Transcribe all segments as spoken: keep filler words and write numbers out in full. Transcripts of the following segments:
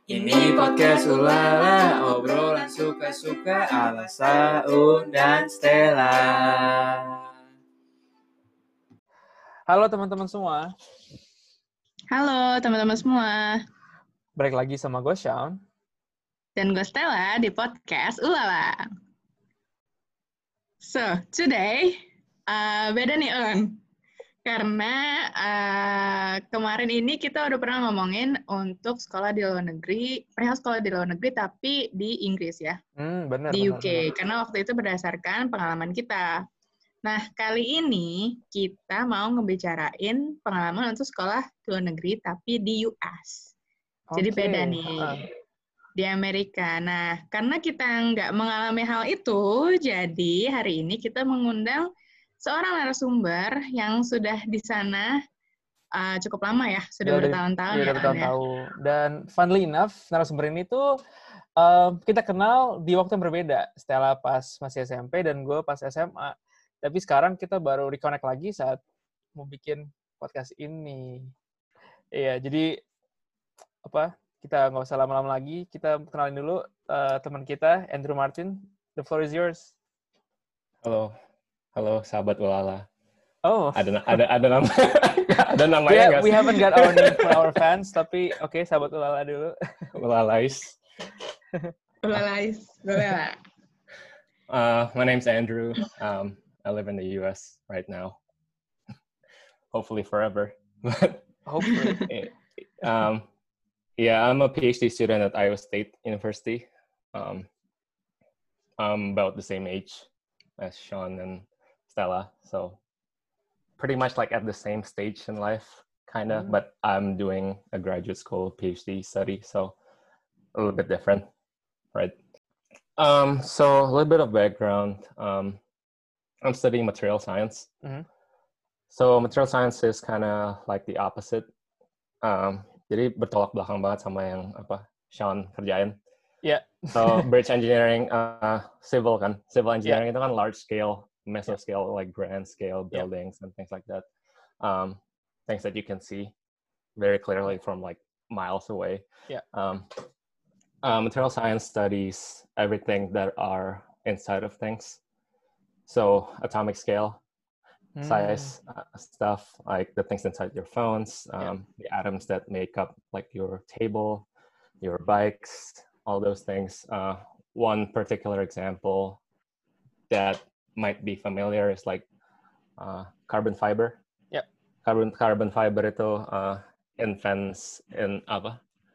Ini podcast Ulala, obrolan suka-suka ala Saun dan Stella. Halo teman-teman semua. Halo teman-teman semua. Balik lagi sama gue, Shaun. Dan gue Stella di podcast Ulala. So, today, uh, beda nih, On. Karena uh, kemarin ini kita udah pernah ngomongin untuk sekolah di luar negeri, perihal sekolah di luar negeri tapi di Inggris ya. Hmm, benar, di benar, U K. benar. Karena waktu itu berdasarkan pengalaman kita. Nah, kali ini kita mau ngebicarain pengalaman untuk sekolah di luar negeri tapi di U S. Jadi Oke, beda nih. uh. Di Amerika. Nah, karena kita nggak mengalami hal itu, jadi hari ini kita mengundang seorang narasumber yang sudah di sana uh, cukup lama ya, sudah bertahun-tahun ya. Sudah bertahun-tahun. Dan funnily enough, narasumber ini tuh uh, kita kenal di waktu yang berbeda. Stella pas masih S M P dan gue pas S M A. Tapi sekarang kita baru reconnect lagi saat mau bikin podcast ini. Iya, jadi apa? Kita nggak usah lama-lama lagi. Kita kenalin dulu uh, teman kita, Andrew Martin. The floor is yours. Halo, halo sahabat Ulala. Oh, ada ada ada nama ada namanya nggak we, we sih? haven't got our name for our fans, tapi oke, okay, sahabat Ulala dulu. Ulalais. Ulalais, boleh. Uh, my name's Andrew. Um, I live in the U S right now. Hopefully forever. Hopefully. um, yeah, I'm a PhD student at Iowa State University. Um, I'm about the same age as Sean and Stella, so pretty much like at the same stage in life, kind of, mm. but I'm doing a graduate school PhD study, so a little bit different, right? Um, so a little bit of background. Um, I'm studying material science. Mm-hmm. So material science is kind of like the opposite. Um, jadi bertolak belakang banget sama yang apa Sean kerjain. Yeah. So bridge engineering, uh, civil kan, civil engineering yeah. itu kan large scale, mesoscale, yeah. like grand scale buildings yeah. and things like that. Um, things that you can see very clearly from like miles away. Yeah. Um, uh, material science studies everything that are inside of things. So atomic scale, mm. size uh, stuff, like the things inside your phones, um, yeah. the atoms that make up like your table, your bikes, all those things. Uh, one particular example that might be familiar is like uh, carbon fiber. Yep. Carbon carbon fiber itu uh, invents in apa?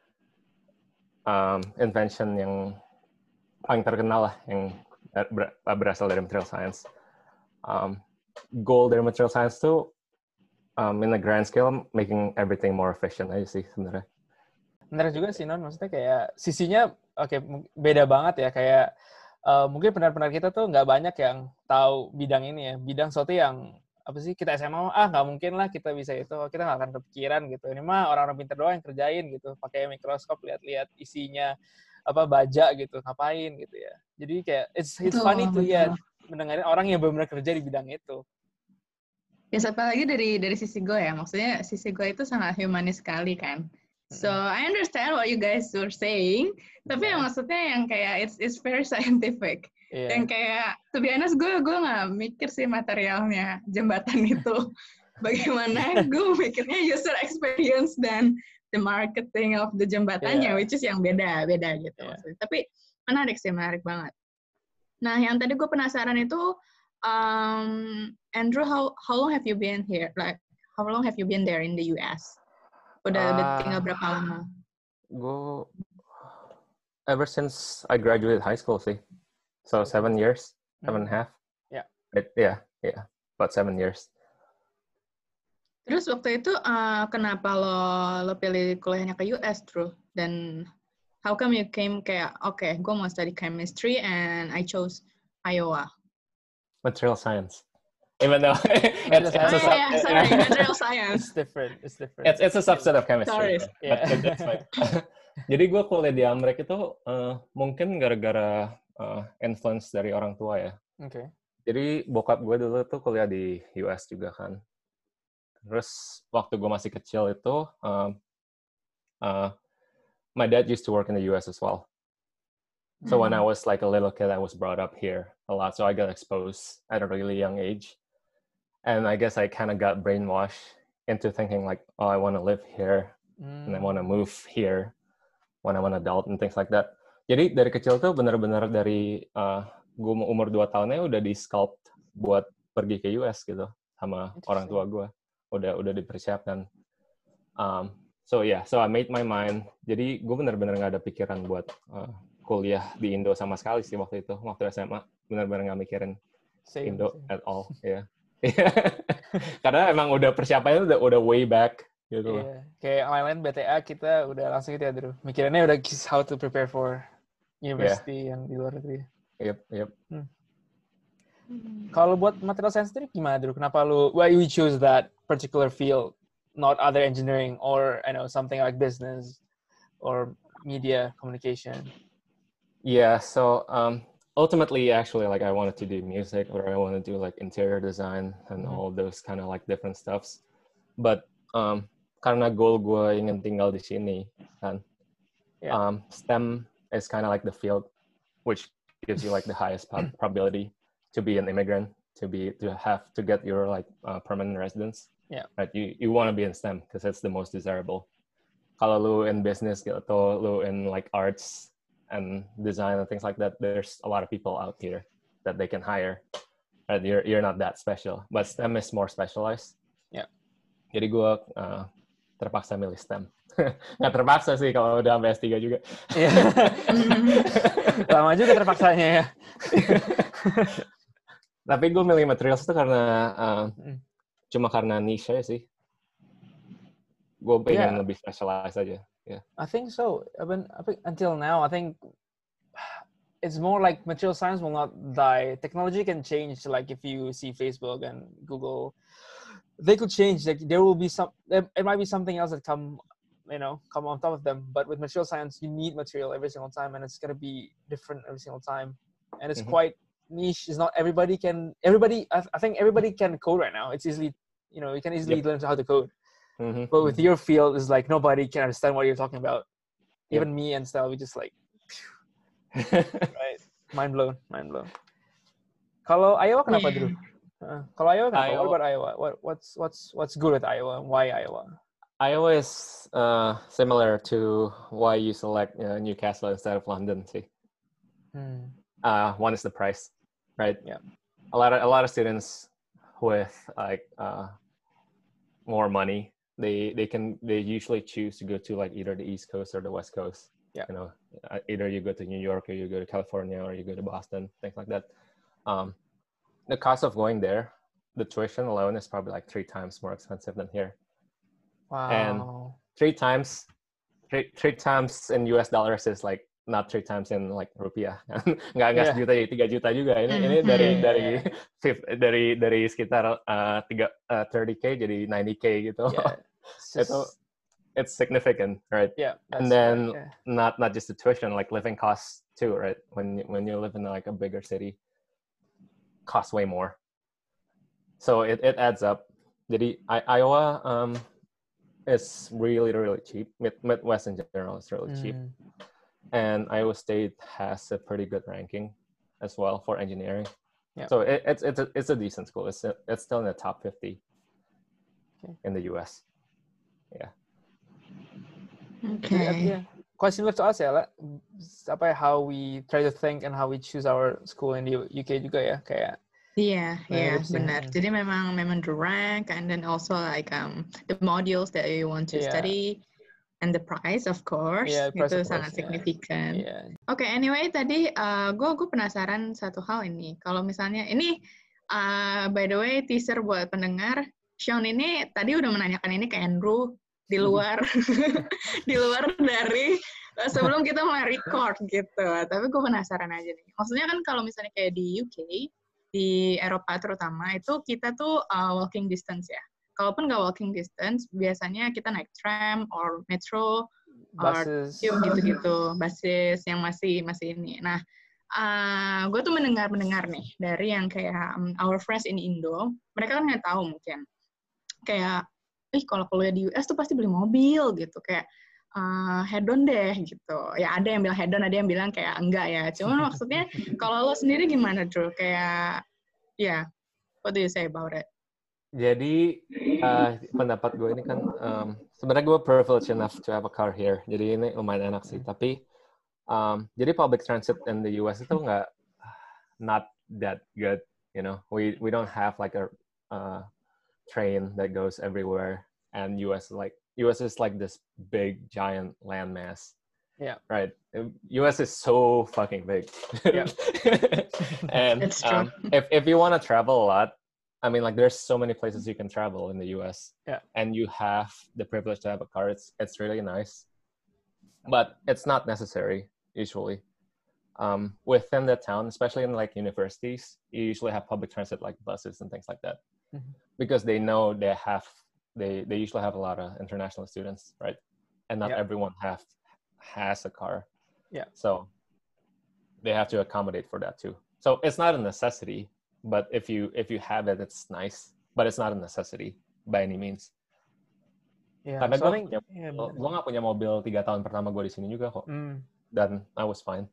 Um, invention yang paling terkenal lah, yang ber- berasal dari material science. Um, goal dari material science tuh um, in a grand scale making everything more efficient aja sih sebenarnya. Benar juga sih, Non. Maksudnya kayak sisinya oke okay, beda banget ya. Kayak uh, mungkin pendengar-pendengar kita tuh nggak banyak yang tahu bidang ini ya. Bidang sesuatu yang apa sih kita S M A ah nggak mungkin lah kita bisa itu. Kita nggak akan kepikiran gitu. Ini mah orang-orang pintar doang yang kerjain gitu. Pakai mikroskop lihat-lihat isinya apa baja gitu, ngapain gitu ya. Jadi kayak it's it's betul, funny tuh ya mendengarin orang yang benar-benar kerja di bidang itu. Ya, apalagi dari dari sisi gue ya. Maksudnya sisi gue itu sangat humanis sekali kan. So I understand what you guys were saying, tapi yeah. yang maksudnya yang kayak it's it's very scientific. Yeah. Yang kayak to be honest gue gue nggak mikir sih materialnya jembatan itu. Bagaimana gue mikirnya user experience dan the marketing of the jembatannya, yeah. which is yang beda beda gitu. Yeah. Maksudnya. Tapi menarik sih, menarik banget. Nah yang tadi gue penasaran itu, um, Andrew, how how long have you been here? Like how long have you been there in the U S? Udah, uh, udah tinggal berapa lama? Gue ever since I graduated high school sih, so seven years, seven and a half. Yeah, It, yeah, yeah, about seven years. Terus waktu itu uh, kenapa lo lo pilih kuliahnya ke U S, Drew? Dan how come you came kayak oke, okay, gue mau study chemistry and I chose Iowa? Material science. Even though it's, it's a oh, yeah, sorry, material science. It's different, it's different. It's it's a subset of chemistry. Sorry. Yeah. But it, it's fine. Jadi gue kuliah di Amerika itu uh, mungkin gara-gara uh, influence dari orang tua ya. Oke. Okay. Jadi bokap gue dulu tuh kuliah di U S juga kan. Terus waktu gue masih kecil itu uh, uh, my dad used to work in the U S as well. So when I was like a little kid, I was brought up here a lot. So I got exposed at a really young age. And I guess I kind of got brainwashed into thinking like, oh, I want to live here mm. and I want to move here when I'm an adult and things like that. Jadi dari kecil tuh benar-benar dari uh, gue umur dua tahunnya udah di-sculpt buat pergi ke U S gitu sama orang tua gue. Udah udah dipersiapkan. Um, so yeah, so I made my mind. Jadi gue benar-benar nggak ada pikiran buat uh, kuliah di Indo sama sekali sih waktu itu. Waktu S M A benar-benar nggak mikirin same, Indo same. At all. Ya. Yeah. Karena emang udah persiapannya udah udah way back gitu. Yeah. Kayak lain-lain B T A kita udah langsung gitu ya, Drew. Mikirannya udah how to prepare for university yeah. yang di luar negeri. Yep, yep. Hmm. Kalau buat material science sendiri gimana, Drew? Kenapa lu why you choose that particular field, not other engineering or I know something like business or media communication? Yeah, so um, ultimately, actually, like I wanted to do music or I want to do like interior design and mm-hmm. all those kind of like different stuffs. But um, karena goal gue ingin tinggal di sini, kan, yeah. um, STEM is kind of like the field which gives you like the highest probability to be an immigrant, to be to have to get your like uh, permanent residence. Yeah, right. You you want to be in STEM because it's the most desirable. Kalau lu in business gitu, atau lu in like arts and design and things like that, there's a lot of people out here that they can hire. Right? You're you're not that special, but STEM is more specialized. Yeah. Jadi gue uh, terpaksa milih STEM. Nggak terpaksa sih kalau udah sampai S tiga juga. Lama juga terpaksanya ya. Tapi gue milih materials itu karena uh, cuma karena niche aja sih. Gue pengen yeah. lebih specialized aja. Yeah. I think so. I mean, I think until now, I think it's more like material science will not die. Technology can change. Like if you see Facebook and Google, they could change. Like there will be some. It might be something else that come, you know, come on top of them. But with material science, you need material every single time, and it's gonna be different every single time. And it's mm-hmm. quite niche. It's not everybody can. Everybody, I, I think everybody can code right now. It's easily, you know, you can easily yep. learn how to code. Mm-hmm. But with your field, it's like nobody can understand what you're talking about. Even yep. me and Stella, we just like, right? Mind blown, mind blown. Kalau Iowa, kenapa, yeah. Drew? Uh, kalau Iowa, kenapa? Iowa. What about Iowa? What what's what's what's good with Iowa? Why Iowa? Iowa is uh, similar to why you select uh, Newcastle instead of London. See, hmm. uh, one is the price, right? Yeah. A lot of a lot of students with like uh, more money. They they can they usually choose to go to like either the East Coast or the West Coast. Yeah. You know, either you go to New York or you go to California or you go to Boston, things like that. Um, the cost of going there, the tuition alone is probably like three times more expensive than here. Wow. And three times, three three times in U S dollars is like not three times in like rupiah. nggak nggak yeah. sejuta tiga juta juga. Ini mm-hmm. ini dari dari dari dari sekitar uh, tiga uh, thirty k jadi ninety k gitu. Yeah. It's, just... it's significant, right? Yeah. And then right, yeah. not not just the tuition, like living costs too, right? When when you live in like a bigger city, costs way more. So it, it adds up. Jadi I, Iowa um is really really cheap. Mid, Midwest in general is really mm. cheap. And Iowa State has a pretty good ranking as well for engineering. Yeah. So it, it's it's a it's a decent school. It's a, it's still in the top fifty okay. in the U S. Yeah. Okay. Yeah. Question left to us ya, apa how we try to think and how we choose our school in the U K juga ya, kayak. Iya, yeah, yeah, benar. Jadi memang memang the rank and then also like um the modules that you want to yeah. study. And the price, of course, yeah, price itu of sangat course, signifikan. Yeah. Oke, okay, anyway, tadi uh, gue gue penasaran satu hal ini. Kalau misalnya ini, uh, by the way, teaser buat pendengar, Sean ini tadi udah menanyakan ini ke Andrew di luar, di luar dari uh, sebelum kita mulai record gitu. Tapi gue penasaran aja nih. Maksudnya kan kalau misalnya kayak di U K, di Eropa terutama itu kita tuh uh, walking distance ya. Kalaupun nggak walking distance, biasanya kita naik tram or metro, buses, or gitu-gitu, basis yang masih masih ini. Nah, uh, gue tuh mendengar mendengar nih dari yang kayak um, our friends in Indo, mereka kan nggak tahu mungkin, kayak, ih kalau kuliah di U S tuh pasti beli mobil gitu, kayak uh, head on deh gitu. Ya ada yang bilang head on, ada yang bilang kayak enggak ya. Cuman maksudnya kalau lo sendiri gimana Drew? Kayak ya, yeah, what do you say about it? Jadi uh, pendapat gue ini kan um, sebenarnya gue privileged enough to have a car here. Jadi ini lumayan enak sih. Tapi um, jadi public transit in the U S itu nggak not that good. You know, we we don't have like a uh, train that goes everywhere, and U S like U S is like this big giant landmass. Yeah. Right. U S is so fucking big. Yeah. And It's true. um, if if you want to travel a lot, I mean, like there's so many places you can travel in the U S. Yeah. And you have the privilege to have a car. It's it's really nice, but it's not necessary usually. Um, within the town, especially in like universities, you usually have public transit like buses and things like that, mm-hmm. because they know they have they they usually have a lot of international students, right? And not yeah. everyone have has a car. Yeah. So they have to accommodate for that too. So it's not a necessity, but if you if you have it, it's nice. But it's not a necessity by any means. Yeah. Karena so gue think, punya, yeah, gue nggak punya mobil tiga tahun pertama gue di sini juga kok. Mm. Dan I was fine.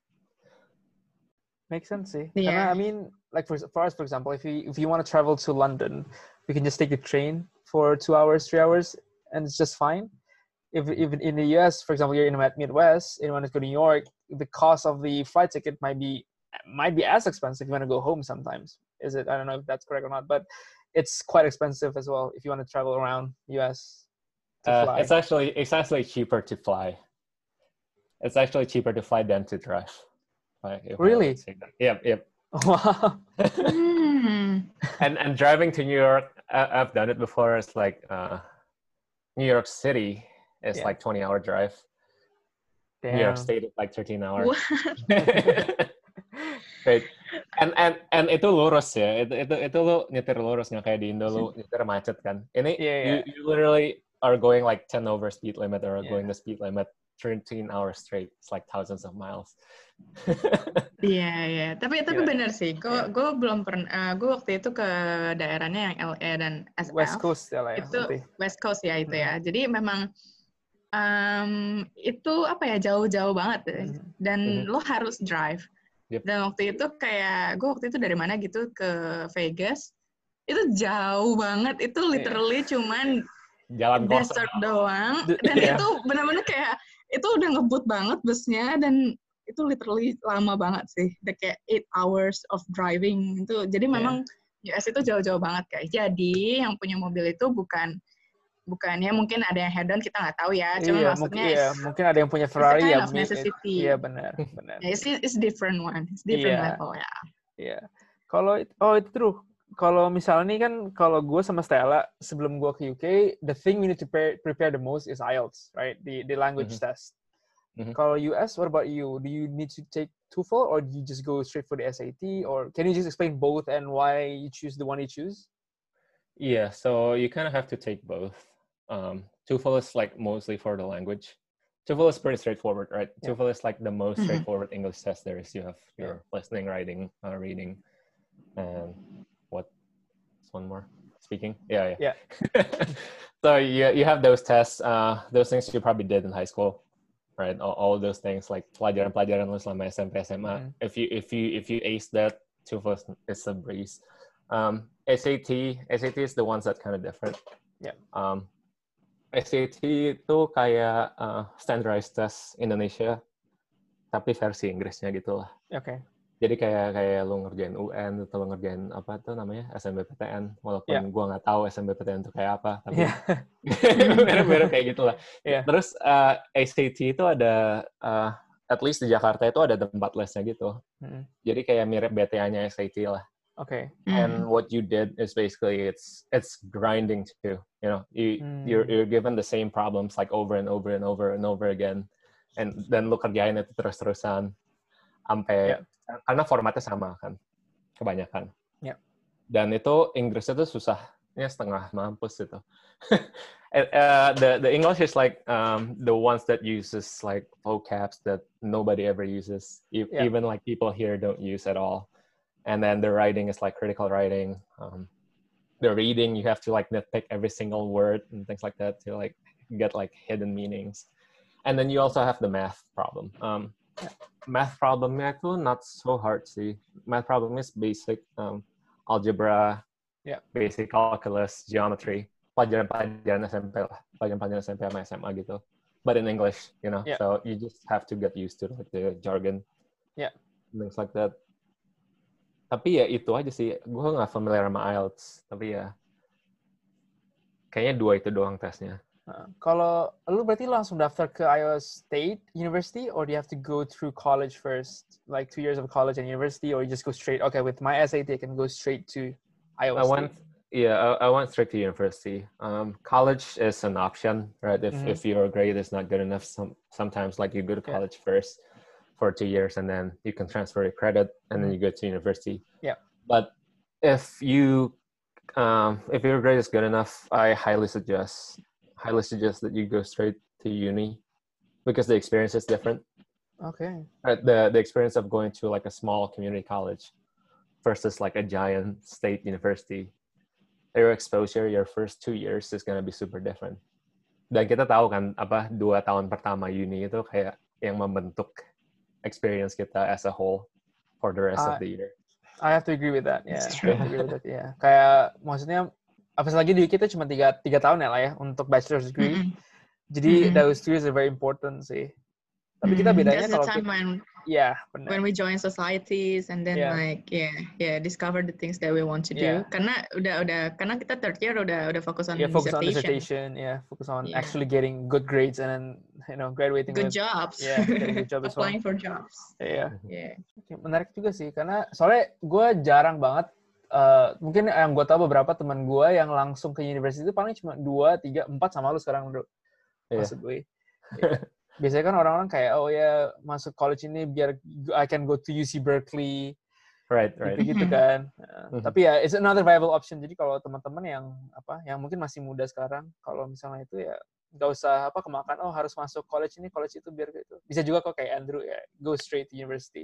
Makes sense, see. Yeah. I mean, like for, for us, for example, if you if you want to travel to London, we can just take the train for two hours, three hours, and it's just fine. If even in the U S, for example, you're in the Midwest, and you want to go to New York, the cost of the flight ticket might be might be as expensive if you want to go home sometimes. Is it? I don't know if that's correct or not, but it's quite expensive as well if you want to travel around U S to Uh, fly. it's actually it's actually cheaper to fly. It's actually cheaper to fly than to drive. Like, if I Really? would say that. Yep, yep. Wow. Hmm. And and driving to New York, I, I've done it before. It's like uh, New York City is Yeah. like twenty hour drive. Damn. New York State is like thirteen hours. What? Right. And and and itu lurus ya. Itu itu itu lu nyetir lurus, nggak kayak di Indo lu nyetir macet kan. Ini Yeah, you yeah. you literally are going like ten over speed limit or Yeah. going the speed limit thirteen hours straight. It's like thousands of miles. Iya, iya. Tapi tapi Gila. benar sih. Gue Iya. gue belum pernah. Uh, gue waktu itu ke daerahnya yang L A dan S F. West Coast ya lah ya. Itu berarti. West Coast ya itu Hmm. ya. Jadi memang um, itu apa ya jauh-jauh banget deh. Mhm. Dan Mhm. lo harus drive. Yep. Dan waktu itu kayak gue waktu itu dari mana gitu ke Vegas. Itu jauh banget. Itu literally cuman Jalan kosong. desert doang. D- Dan yeah. itu benar-benar kayak itu udah ngebut banget busnya dan itu literally lama banget sih. Udah kayak eight hours of driving itu. Jadi memang U S itu jauh-jauh banget guys. Jadi yang punya mobil itu bukan bukannya mungkin ada yang head on kita nggak tahu ya. Cuma Iya, maksudnya mungkin, iya, it's, mungkin ada yang punya it's a Ferrari kind ya. of mi- necessity. Iya benar, benar. Ya, it's, it's different one. It's different Iya. level ya. Iya. Kalau it- oh itu true. Kalau misalnya nih kan kalau gue sama Stella sebelum gue ke U K, the thing we need to prepare, prepare the most is I E L T S, right? The the language Mhm. test. Mhm. Kalau U S, what about you? Do you need to take TOEFL or do you just go straight for the S A T? Or can you just explain both and why you choose the one you choose? Yeah, so you kind of have to take both. Um, TOEFL is like mostly for the language. TOEFL is pretty straightforward, right? Yeah. TOEFL is like the most Mhm. straightforward English test there is. You have your listening, writing, uh, reading, and what? One more, speaking. Yeah, yeah. Yeah. So you you have those tests. Uh, those things you probably did in high school, right? All, all of those things like pelajaran-pelajaran lu selama S M P S M A. Mhm. If you if you if you ace that, TOEFL is, is a breeze. Um, S A T S A T is the ones that kind of different. Yeah. Um, S A T itu kayak uh, standardized test Indonesia, tapi versi Inggrisnya gitu lah. Okay. Jadi kayak kayak lu ngerjain U N atau lu ngerjain apa tuh namanya S M B P T N, walaupun Yeah. gua nggak tahu S M B P T N itu kayak apa, tapi Yeah. mirip-mirip kayak gitulah. Yeah. Terus uh, S A T itu ada uh, at least di Jakarta itu ada tempat lesnya gitu. Mhm. Jadi kayak mirip B T A-nya S A T lah. Okay. And what you did is basically it's it's grinding too. You know, you Hmm. you're you're given the same problems like over and over and over and over again, and then lu kerjain itu terus-terusan sampai Yeah. karena formatnya sama kan, kebanyakan. Yeah. Dan itu Inggrisnya tuh susahnya setengah mampus itu. uh, the the English is like um, the ones that uses like vocabs that nobody ever uses, e- Yeah. even like people here don't use at all. And then the writing is like critical writing. Um, the reading, you have to like nitpick every single word and things like that to like get like hidden meanings. And then you also have the math problem. Um, math problemnya itu not so hard sih. Math problem is basic um, algebra, yeah. basic calculus, geometry, pelajaran-pelajaran S M P lah, pelajaran-pelajaran S M P sama S M A gitu. But in English, you know, yeah. so you just have to get used to like the jargon, yeah, things like that. Tapi ya itu aja sih, gue nggak familiar sama I E L T S, tapi ya kayaknya dua itu doang tesnya. Uh, kalau lu berarti langsung daftar ke Iowa State University, or do you have to go through college first, like two years of college and university, or you just go straight? Okay, with my S A T, I can go straight to Iowa I State. went, yeah, I, I went straight to university. Um, college is an option, right? If mm-hmm. if your grade is not good enough, some sometimes like you go to college yeah. first for two years, and then you can transfer your credit, and mm-hmm. then you go to university. Yeah. But if you um, if your grade is good enough, I highly suggest. highly suggest that you go straight to uni because the experience is different. Okay. Right, the the experience of going to like a small community college versus like a giant state university, your exposure your first two years is gonna be super different. Dan kita tahu kan apa dua tahun pertama uni itu kayak yang membentuk experience kita as a whole for the rest uh, of the year. I have to agree with that. Yeah. I have to agree with that. Yeah. Kayak maksudnya apalagi di U K itu cuma tiga, tiga tahun ya lah ya untuk bachelor's degree. Mm-hmm. Jadi mm-hmm. those two years are very important sih. Tapi kita bedanya That's kalau the time kita, when, yeah, benar. when we join societies and then yeah. like yeah yeah discover the things that we want to do. Yeah. Karena udah udah karena kita third year udah udah fokus on yeah, focus dissertation. on dissertation. Yeah, focus on yeah. actually getting good grades and then you know graduating good with, jobs. Yeah, getting good job as well. Applying for jobs. Yeah. Yeah. Okay, menarik juga sih karena soalnya gue jarang banget. Uh, mungkin yang gue tahu beberapa teman gue yang langsung ke university itu paling cuma dua, tiga, empat sama lu sekarang bro. Yeah. Maksud gue. Yeah. Biasanya kan orang-orang kayak, oh ya masuk college ini biar I can go to U C Berkeley. Right, right. Gitu-gitu kan. Uh, mm-hmm. Tapi ya, it's another viable option. Jadi kalau teman-teman yang apa, yang mungkin masih muda sekarang, kalau misalnya itu ya nggak usah apa kemakan, oh harus masuk college ini, college itu biar gitu. Bisa juga kok kayak Andrew ya, go straight to university.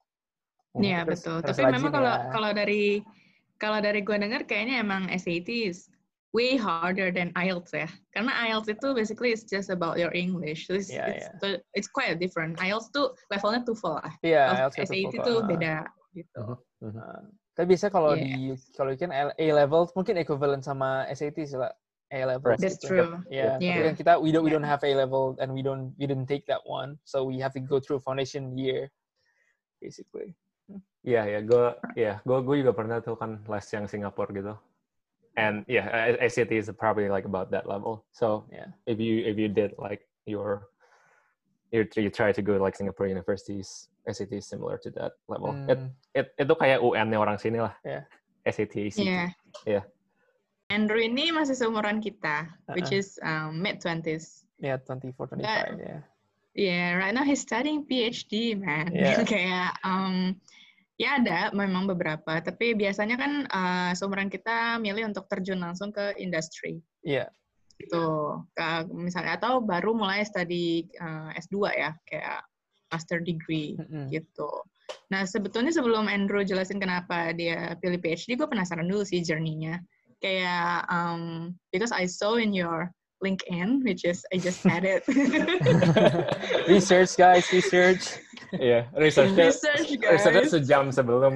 Iya, hmm, betul. Tapi memang kalau ya. kalau dari Kalau dari gue dengar kayaknya emang S A T is way harder than I E L T S ya. Karena I E L T S itu basically it's just about your English. So it's, yeah, it's, yeah. it's quite different. I E L T S tuh levelnya TOEFL lah. Iya, yeah, S A T tuh beda gitu. Uh-huh. Uh, tapi biasanya kalau yeah. di kalau kan A level mungkin equivalent sama S A T sih lah. A level. That's gitu. true. Yeah. yeah. Tapi kan kita we don't we don't have A level and we don't we didn't take that one. So we have to go through foundation year basically. Iya, yeah, ya, yeah, gue, ya, yeah, gue, gue juga pernah tuh kan les yang Singapura gitu, and yeah, S A T is probably like about that level. So yeah, if you if you did like your, you you try to go like Singapore universities, S A T is similar to that level. Mm. It, it itu kayak U N-nya orang sini lah. Yeah. S A T, A C T. Yeah. Yeah. Andrew ini masih seumuran kita, uh-uh. which is um, mid twenties. Yeah, twenty-four, twenty-five. Yeah. Yeah, right now he's studying P H D, man. Yeah. Kayak, um, ya ada memang beberapa, tapi biasanya kan uh, seumuran kita milih untuk terjun langsung ke industri. Iya. Yeah. Gitu. Ke, misalnya, atau baru mulai study uh, S dua ya, kayak master degree, mm-hmm. gitu. Nah, sebetulnya sebelum Andrew jelasin kenapa dia pilih P H D, gue penasaran dulu sih journey-nya. Kayak, um, because I saw in your LinkedIn, which is I just added. Research guys, research. Iya, yeah, researchnya, research guys. Researchnya sejam sebelum.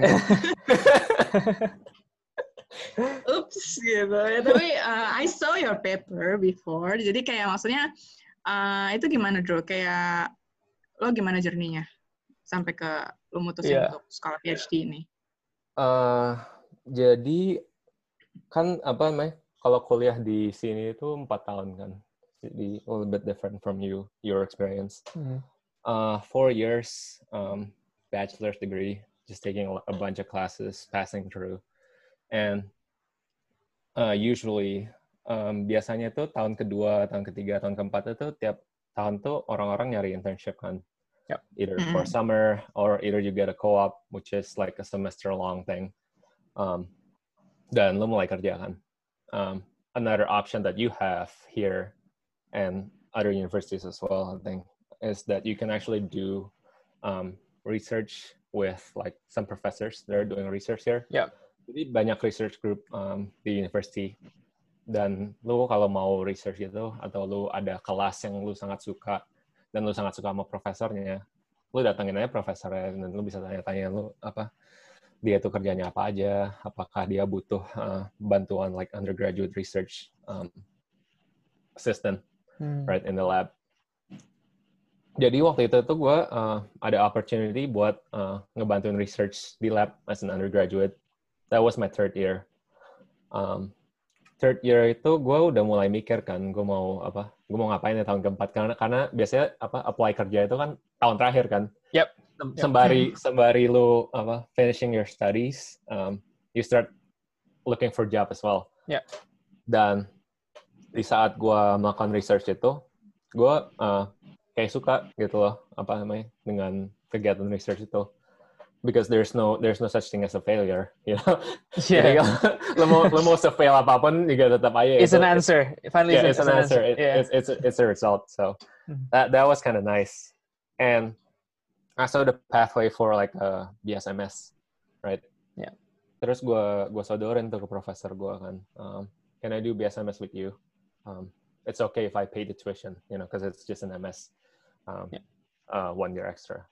Oops, gitu. Ya, tapi uh, I saw your paper before, jadi kayak maksudnya uh, itu gimana Drew? Kayak lo gimana journey-nya sampai ke lo mutusin yeah. untuk sekolah P H D ini? Uh, jadi kan apa namanya? Kalau kuliah di sini itu empat tahun kan, jadi a little bit different from you, your experience. Mm-hmm. Uh, four years, um, bachelor's degree, just taking a bunch of classes, passing through, and uh, usually um, biasanya tuh tahun kedua, tahun ketiga, tahun keempat itu tiap tahun tuh orang-orang nyari internship kan, yep. either mm-hmm. for summer or either you get a co-op, which is like a semester-long thing, um, dan lo mulai kerja kan. Um, another option that you have here and other universities as well, I think, is that you can actually do um, research with like some professors that are doing research here. Yeah. Jadi banyak research group um, di university. Dan lu kalau mau research gitu, atau lu ada kelas yang lu sangat suka, dan lu sangat suka sama profesornya, lu datangin aja profesornya dan lu bisa tanya-tanya lu apa dia tuh kerjanya apa aja, apakah dia butuh uh, bantuan like undergraduate research um, assistant Hmm. right in the lab. Jadi waktu itu tuh gue uh, ada opportunity buat uh, ngebantuin research di lab as an undergraduate. That was my third year. Um, third year itu gue udah mulai mikir kan, gue mau apa, gue mau ngapain ya tahun keempat karena karena biasanya apa apply kerja itu kan tahun terakhir kan. Yep. Sembari sembari lu apa finishing your studies, um, you start looking for job as well. Yep. Dan di saat gue melakukan research itu, gue uh, kayak suka gitu loh apa namanya dengan kegiatan research itu. Because there's no there's no such thing as a failure, you know. Yeah. Jadi lo mau lo mau se-fail apapun juga tetap aja. It's itu, an answer. Finally, yeah, it's, it's an answer. It, yeah. It's it's a, it's a result. So Hmm. that that was kind of nice. And I saw the pathway for like a B S M S, right? Yeah. Terus gue gue sodorin tuh ke profesor gue kan, um, can I do B S M S with you? Um, it's okay if I pay the tuition, you know, because it's just an M S, um, Yeah. uh, one year extra.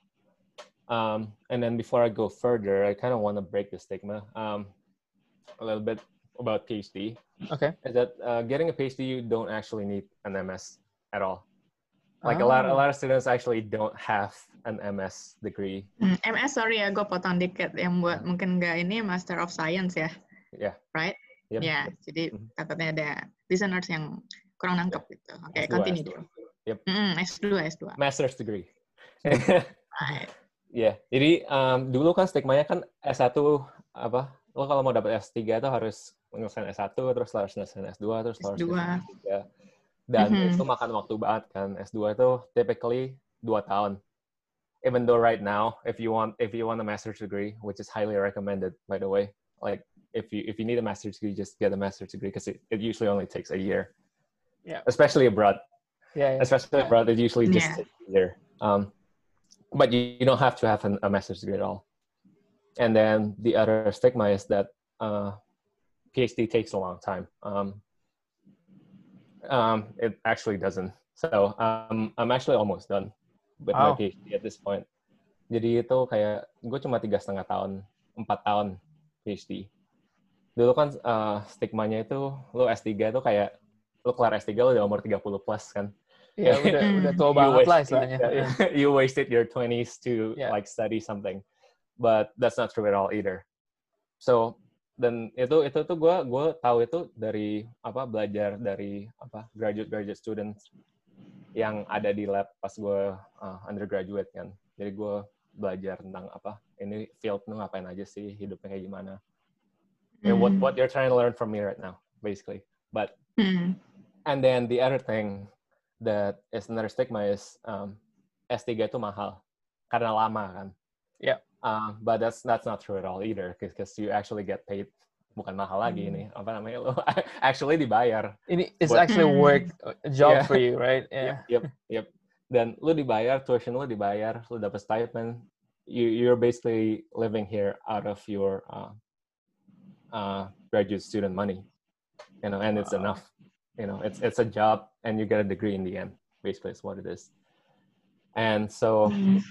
Um, and then before I go further, I kind of want to break the stigma um, a little bit about PhD. Okay. Is that uh, getting a PhD, you don't actually need an M S at all. Like Oh. a lot, a lot of students actually don't have an M S degree. Hmm, M S, sorry ya, gue potong dikit. Yang buat mungkin nggak ini Master of Science ya, Yeah. right? Yep. Ya, jadi Mhm. takutnya ada listeners yang kurang nangkep gitu. Oke, S dua, continue S dua. dulu. Yep. Mm, S dua, S dua. Master's degree. Right. Ya, yeah. Jadi um, dulu kan stigmanya kan S satu apa? Lo kalau mau dapat S tiga itu harus menyelesaikan S satu, terus harus menyelesaikan S dua, terus harus S dua. menyelesaikan S tiga. Dan Mhm. itu makan waktu banget kan. S dua itu typically dua tahun. Even though right now, if you want if you want a master's degree, which is highly recommended by the way, like if you if you need a master's degree, just get a master's degree because it, it usually only takes a year. Yeah. Especially abroad. Yeah. yeah. Especially abroad, it usually just Yeah. takes a year. Um, but you, you don't have to have an, a master's degree at all. And then the other stigma is that uh, PhD takes a long time. Um, um, it actually doesn't. So um, I'm actually almost done with Wow. my PhD at this point. Jadi itu kayak gue cuma tiga setengah tahun, empat tahun PhD. Dulu kan uh, stigmanya itu lo S tiga itu kayak lo kelar S tiga lo udah umur tiga puluh plus kan. Ya, udah udah tua You banget lah waste- istilahnya. yeah, Iya. you wasted your twenties to Yeah. like study something, but that's not true at all either. So dan itu itu tuh gue gue tahu itu dari apa belajar dari apa graduate graduate students yang ada di lab pas gue uh, undergraduate kan. Jadi gue belajar tentang apa ini field lu ngapain aja sih, hidupnya kayak gimana. And what Hmm. what you're trying to learn from me right now, basically. But Hmm. and then the other thing that is another stigma is um, S tiga itu mahal karena lama kan. Yeah. Uh, but that's that's not true at all either because you actually get paid. Bukan mahal lagi Hmm. ini apa namanya lo actually dibayar. Ini it's What- actually Hmm. work a job Yeah. for you, right? Yeah. Yep, yep, yep. Dan lu dibayar, tuition lu dibayar, lu dapat stipend. You you're basically living here out of your uh, uh, graduate student money, you know, and it's Wow. enough. You know, it's it's a job, and you get a degree in the end. Basically, is what it is. And so, Hmm.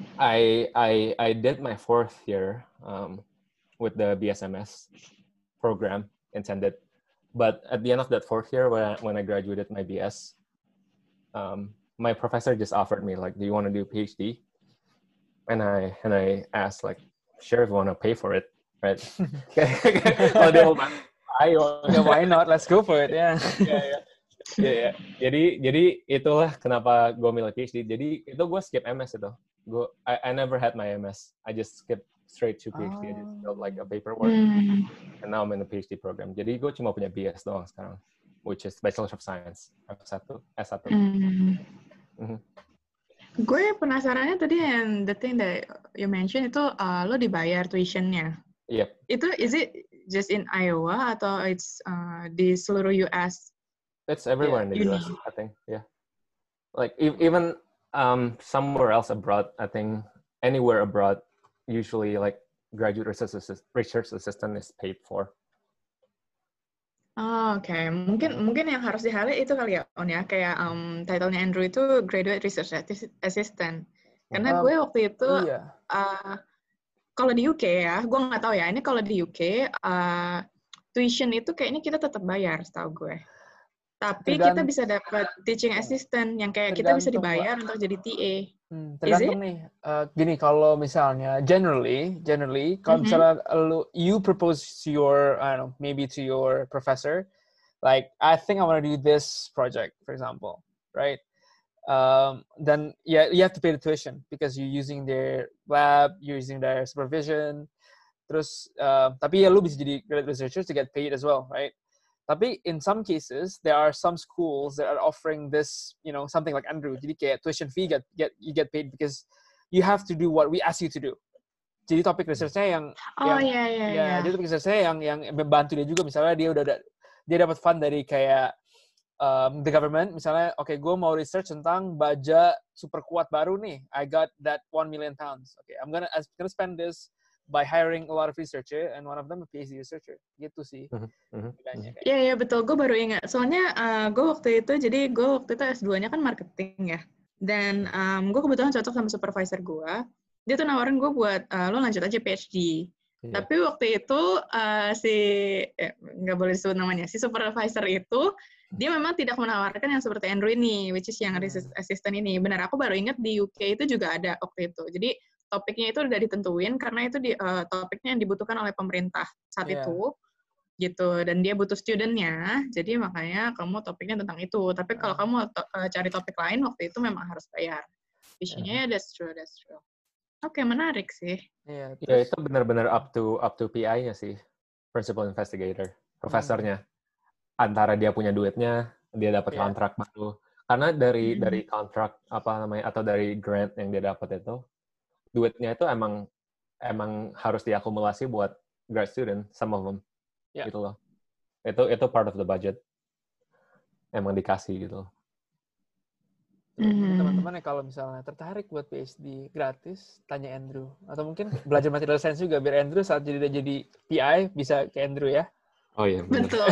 I I I did my fourth year um, with the B S M S program intended, but at the end of that fourth year, when I, when I graduated my B S, um, my professor just offered me like, "Do you want to do a PhD?" And I and I asked like, "Sure, if you want to pay for it, right?" Kalau dia mau bantu, ayo. Yeah, why not? Let's go for it. Yeah. Ya, ya. Ya, ya. Jadi jadi itulah kenapa gue milih PhD. Jadi itu gue skip M S itu. Gue I, I never had my M S. I just skip straight to PhD. I just filled like a paperwork, Hmm. and now I'm in the PhD program. Jadi gue cuma punya B S doang sekarang, which is Bachelor of Science S satu. S satu. Hmm. Mhm. Gue penasarannya tadi yang the thing that you mentioned itu uh, lo dibayar tuitionnya. Yep. Itu is it just in Iowa atau it's uh, di seluruh U S? It's everywhere in the uni. U S, I think. Yeah. Like e- even um, somewhere else abroad, I think anywhere abroad, usually like graduate research assist- research assistant is paid for. Oh, oke, okay. mungkin mungkin yang harus di-highlight itu kali ya, On ya, kayak um, title-nya Andrew itu Graduate Research Assistant. Karena Um, gue waktu itu, iya. uh, kalau di U K ya, gue nggak tahu ya, ini kalau di U K, uh, tuition itu kayaknya kita tetap bayar, setahu gue. Tapi kita Tergant- bisa dapat teaching assistant yang kayak kita bisa tergantung, dibayar Mbak. untuk jadi T A. Hmm, Is tergantung it? nih. Uh, gini, kalau misalnya generally, generally, kalau Mhm. misalnya lu, you propose to your, I don't know, maybe to your professor, like I think I want to do this project, for example, right? Um, then yeah, you have to pay the tuition because you're using their lab, you're using their supervision. Terus, uh, tapi ya lu bisa jadi graduate researcher to get paid as well, right? Tapi in some cases, there are some schools that are offering this, you know, something like Andrew. Jadi kayak tuition fee get get you get paid because you have to do what we ask you to do. Jadi topik researchnya yang Oh yang iya iya ya, iya. jadi topik researchnya yang yang membantu dia juga. Misalnya dia udah ada, dia dapat fund dari kayak um, the government. Misalnya, oke, okay, gue mau research tentang baja super kuat baru nih. I got that one million pounds. Oke, okay, I'm gonna I'm gonna spend this by hiring a lot of researcher and one of them a PhD researcher. Gitu sih. Mm-hmm. Iya, iya betul. Gue baru ingat. Soalnya uh, gue waktu itu, jadi gue waktu itu S dua-nya kan marketing ya. Dan um, gue kebetulan cocok sama supervisor gue. Dia tuh nawarin gue buat, uh, lo lanjut aja PhD. Yeah. Tapi waktu itu uh, si, eh, nggak boleh disebut namanya, si supervisor itu, dia memang tidak menawarkan yang seperti Andrew ini, which is yang Hmm. research assistant ini. Benar, aku baru ingat di U K itu juga ada waktu itu. Jadi topiknya itu udah ditentuin karena itu di, uh, topiknya yang dibutuhkan oleh pemerintah saat Yeah. itu. Gitu, dan dia butuh student-nya, jadi makanya kamu topiknya tentang itu. Tapi kalau Ah. kamu to uh, cari topik lain, waktu itu memang harus bayar. Visinya ya, that's true, that's true. Oke, okay, menarik sih. Yeah, Ya terus, itu benar-benar up to up to P I-nya sih, principal investigator, profesornya. Antara dia punya duitnya, dia dapat Yeah. kontrak baru. Karena dari Mm-hmm. dari kontrak apa namanya atau dari grant yang dia dapat itu, duitnya itu emang emang harus diakumulasi buat grad student, some of them. Yeah. Gitu loh. Itu itu part of the budget. Emang dikasih gitu. Tuh, jadi Hmm. teman-teman ya kalau misalnya tertarik buat PhD gratis, tanya Andrew. Atau mungkin belajar material science juga, biar Andrew saat jadi udah jadi P I bisa ke Andrew ya. Oh iya, benar. Betul.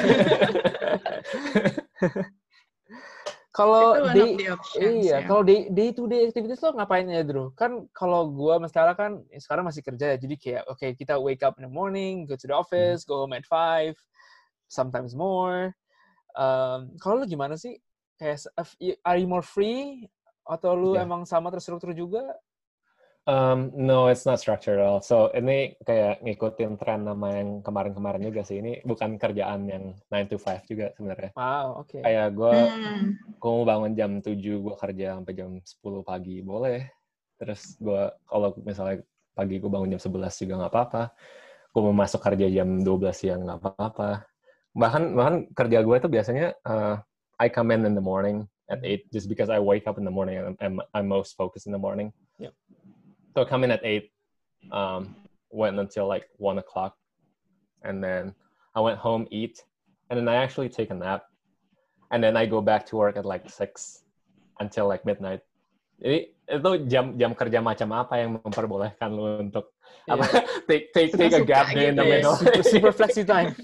Kalau Itu one day, of the options, iya, ya. kalau day day to day activities lo ngapain ya, Drew? Kan kalau gua sama Stella kan ya sekarang masih kerja ya, jadi kayak oke okay, kita wake up in the morning, go to the office, go home at five, sometimes more. Um, kalau lu gimana sih? Kayak are you more free atau lu Yeah. emang sama terstruktur juga? Um, no, it's not structured at all. So ini kayak ngikutin tren nama yang kemarin-kemarin juga sih. Ini bukan kerjaan yang nine to five juga sebenarnya. Wow, oke. Okay. Kayak gue, Hmm. gue mau bangun jam tujuh, gue kerja sampai jam sepuluh pagi, boleh. Terus gue, kalau misalnya pagi gue bangun jam sebelas juga nggak apa-apa. Gue mau masuk kerja jam dua belas siang nggak apa-apa. Bahkan, bahkan kerja gue itu biasanya, uh, I come in in the morning at eight, just because I wake up in the morning and I'm, I'm most focused in the morning. Yep. So I come in at eight, um, went until like one o'clock, and then I went home, eat, and then I actually take a nap, and then I go back to work at like six until like midnight. Jadi itu jam jam kerja macam apa yang memperbolehkan lu untuk yeah. apa take take take a gap day in the yeah, middle? Super, super flexi time.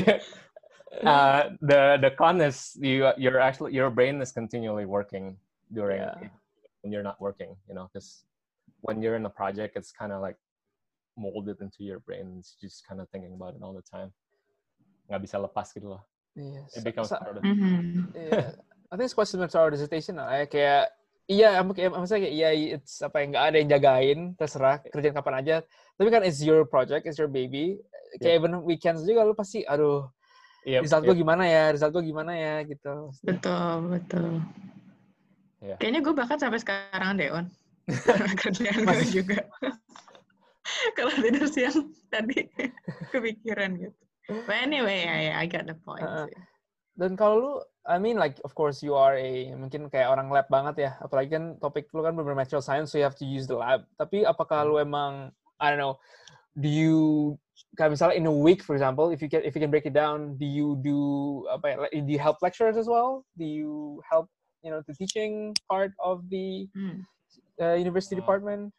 uh, the the con is you you're actually your brain is continually working during yeah. when you're not working, you know, because when you're in a project, it's kind of like molded into your brain. It's just kind of thinking about it all the time. Nggak bisa lepas gitu loh. Yes. It becomes so, part of it. Mm-hmm. Yeah. I think it's quite similar to our dissertation. Lah. Kayak, iya, maksudnya kayak, iya, it's apa yang nggak ada yang jagain, terserah kerjain kapan aja. Tapi kan it's your project, it's your baby. Kayak yeah. even weekends juga lu pasti, aduh, yep, result yep. gue gimana ya, result gue gimana ya, gitu. Betul, betul. Yeah. Kayaknya gue bahkan sampai sekarang deh, On. Kerjaan gue juga. Kalau tidur siang tadi kepikiran gitu. But anyway, I, I got the point. Uh, dan kalau lu, I mean like of course you are a mungkin kayak orang lab banget ya. Apalagi kan topik lu kan bener material science, so you have to use the lab. Tapi apakah lu emang, I don't know, do you kayak misalnya in a week for example, if you can if you can break it down, do you do apa ya? Do you help lecturers as well? Do you help you know the teaching part of the hmm. Uh, university department?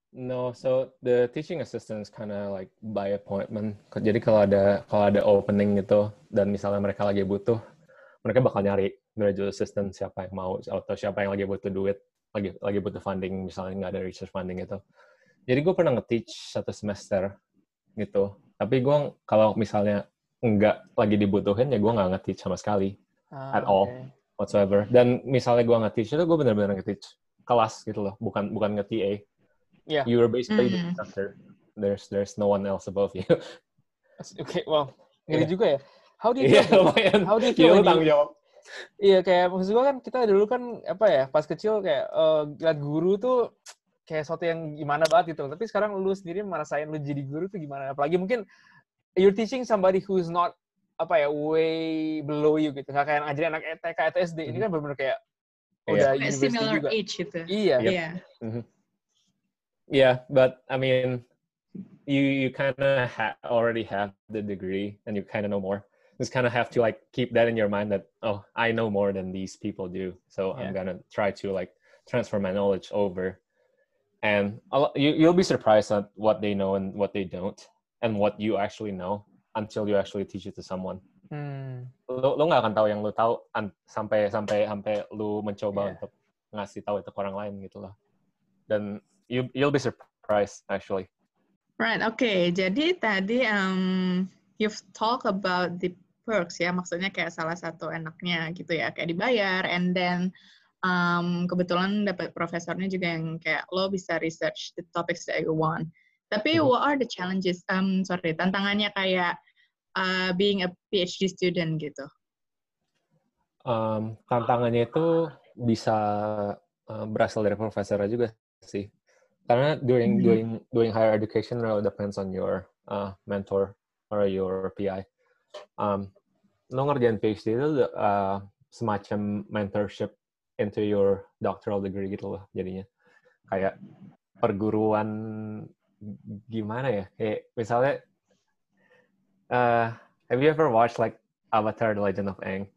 No, so the teaching assistant is kind of like by appointment. Jadi kalau ada kalau ada opening gitu dan misalnya mereka lagi butuh, mereka bakal nyari graduate assistant siapa yang mau atau siapa yang lagi butuh duit, lagi lagi butuh funding misalnya nggak ada research funding gitu. Jadi gue pernah nge-teach satu semester gitu. Tapi gue kalau misalnya nggak lagi dibutuhin ya gue nggak nge-teach sama sekali Ah, at all okay. whatsoever. Dan misalnya gue nge-teach itu gue benar-benar nge-teach kelas gitu loh, bukan bukan nge-T A. Yeah. You were basically the Mm. instructor. There's there's no one else above you. Okay, well, ngeri Yeah. juga ya. How do you Iya, feel? lumayan. How do you Iya, feel lu when tanggung you, jawab. iya kayak maksud gua kan kita dulu kan apa ya pas kecil kayak uh, lihat guru tuh kayak sesuatu yang gimana banget gitu. Tapi sekarang lu sendiri merasain lu jadi guru tuh gimana? Apalagi mungkin you're teaching somebody who's not apa ya way below you gitu. Nggak kayak ngajarin anak T K atau S D. Ini kan benar-benar kayak Iya. udah Kayak university similar juga. age gitu. Iya. Yep. Iya. Mhm. Yeah, but I mean, you you kind of ha- already have the degree, and you kind of know more. Just kind of have to like keep that in your mind that oh, I know more than these people do, so I'm Yeah. gonna try to like transfer my knowledge over. And a lo- you you'll be surprised at what they know and what they don't, and what you actually know until you actually teach it to someone. Hmm. Lo lo nggak akan tahu yang lo tahu an- sampai sampai sampai lu mencoba Yeah. untuk ngasih tahu itu ke orang lain gitu loh. Dan you you'll be surprised actually. Right, oke. Okay. Jadi tadi um, you've talk about the perks ya, maksudnya kayak salah satu enaknya gitu ya, kayak dibayar, and then um, kebetulan dapat profesornya juga yang kayak lo bisa research the topics that you want. Tapi Mhm. what are the challenges? Um, sorry, tantangannya kayak uh, being a PhD student gitu. Um, tantangannya itu bisa uh, berasal dari profesornya juga sih. Karena doing Mhm. doing doing higher education really depends on your uh, mentor or your P I. Um, lo ngerjain PhD itu uh, semacam mentorship into your doctoral degree gitu loh jadinya. Kayak perguruan gimana ya? Kayak misalnya, uh, have you ever watched like Avatar: The Legend of Aang?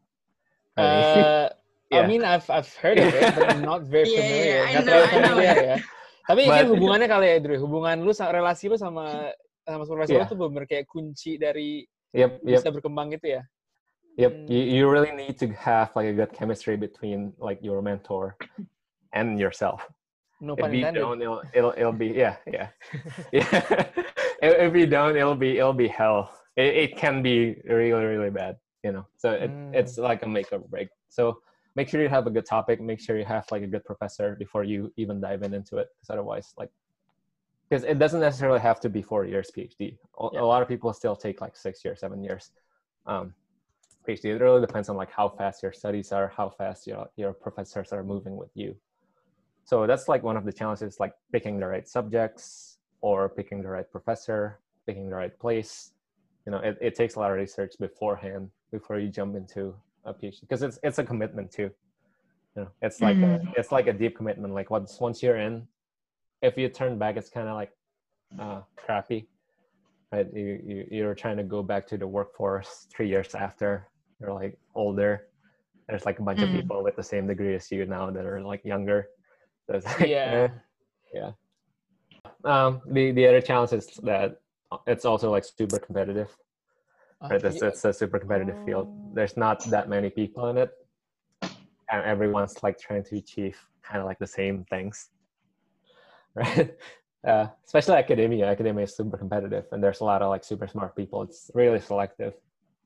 Uh, I Yeah. mean, I've I've heard of it, but I'm not very Yeah, familiar. yeah, I Nggak know, terlalu I know familiar it. ya. Tapi ini But- hubungannya kali ya, Drew. Hubungan lu, sa- relasi lu sama sama profesor lu Yeah. tuh bener kayak kunci dari Yep, lu yep. bisa berkembang gitu ya. Yep, Hmm. you, you really need to have like a good chemistry between like your mentor and yourself. No If pun you intended. don't, it'll it'll, it'll be yeah, yeah, yeah. if, if you don't, it'll be it'll be hell. It, it can be really really bad, you know. So it, Mm. it's like a make or break. So make sure you have a good topic. Make sure you have like a good professor before you even dive in into it, because otherwise, like, because it doesn't necessarily have to be four years PhD. A, Yeah. a lot of people still take like six years, seven years. Um, PhD. It really depends on like how fast your studies are, how fast your your professors are moving with you. So that's like one of the challenges, like picking the right subjects or picking the right professor, picking the right place. You know, it, it takes a lot of research beforehand before you jump into a PhD, because it's it's a commitment too. You know, it's like a, Mhm. it's like a deep commitment. Like once once you're in, if you turn back, it's kind of like uh, crappy, right? You you you're trying to go back to the workforce three years after you're like older. There's like a bunch of Mm. people with the same degree as you now that are like younger. So it's like, Yeah. eh, yeah. Um, the the other challenge is that it's also like super competitive. Ah, Right, it's, iya. it's a super competitive field. Oh. There's not that many people in it, and everyone's like trying to achieve kind of like the same things, right? Uh, especially academia. Academia is super competitive, and there's a lot of like super smart people. It's really selective.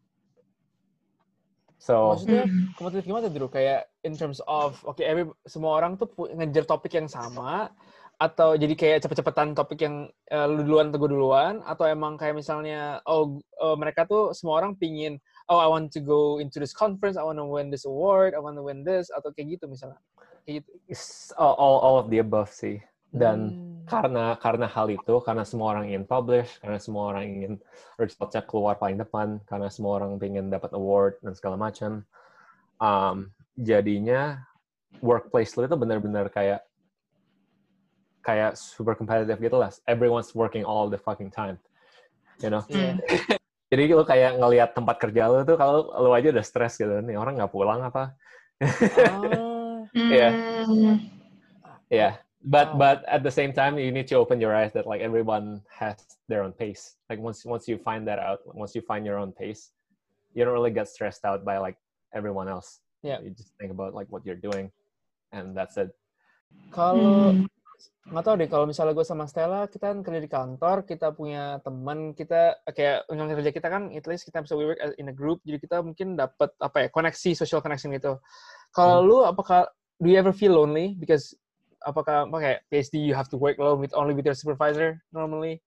So Maksudnya Hmm. kompetitif gimana, Drew? Kayak in terms of, oke, every semua orang tuh pu- ngejar topik yang sama, atau jadi kayak cepet-cepetan topik yang eh, lu duluan atau gue duluan, atau emang kayak misalnya, oh eh, mereka tuh semua orang pingin, oh I want to go into this conference, I want to win this award, I want to win this, atau kayak gitu misalnya. Kayak gitu. it's all, all all of the above sih. Dan Hmm. karena karena hal itu, karena semua orang ingin publish, karena semua orang ingin resultnya keluar paling depan, karena semua orang ingin dapat award dan segala macam, um, jadinya workplace lu itu benar-benar kayak kayak super competitive gitu lah. Everyone's working all the fucking time, you know. Yeah. Jadi lu kayak ngelihat tempat kerja lu tuh, kalau lu aja udah stres gitu, nih orang nggak pulang apa? Ah. Iya. Hmm. Yeah. But Wow. but at the same time, you need to open your eyes that like everyone has their own pace. Like once once you find that out, once you find your own pace, you don't really get stressed out by like everyone else. Yeah. You just think about like what you're doing, and that's it. Kalau Hmm. nggak tahu deh, kalau misalnya gue sama Stella, kita kan kerja di kantor, kita punya teman, kita kayak undang kerja kita kan, at least kita bisa we work in a group, jadi kita mungkin dapat apa ya, koneksi, social connection gitu. Kalau Hmm. lu, apakah, do you ever feel lonely? Because, apakah, apa kayak PhD, you have to work alone with only with your supervisor, normally?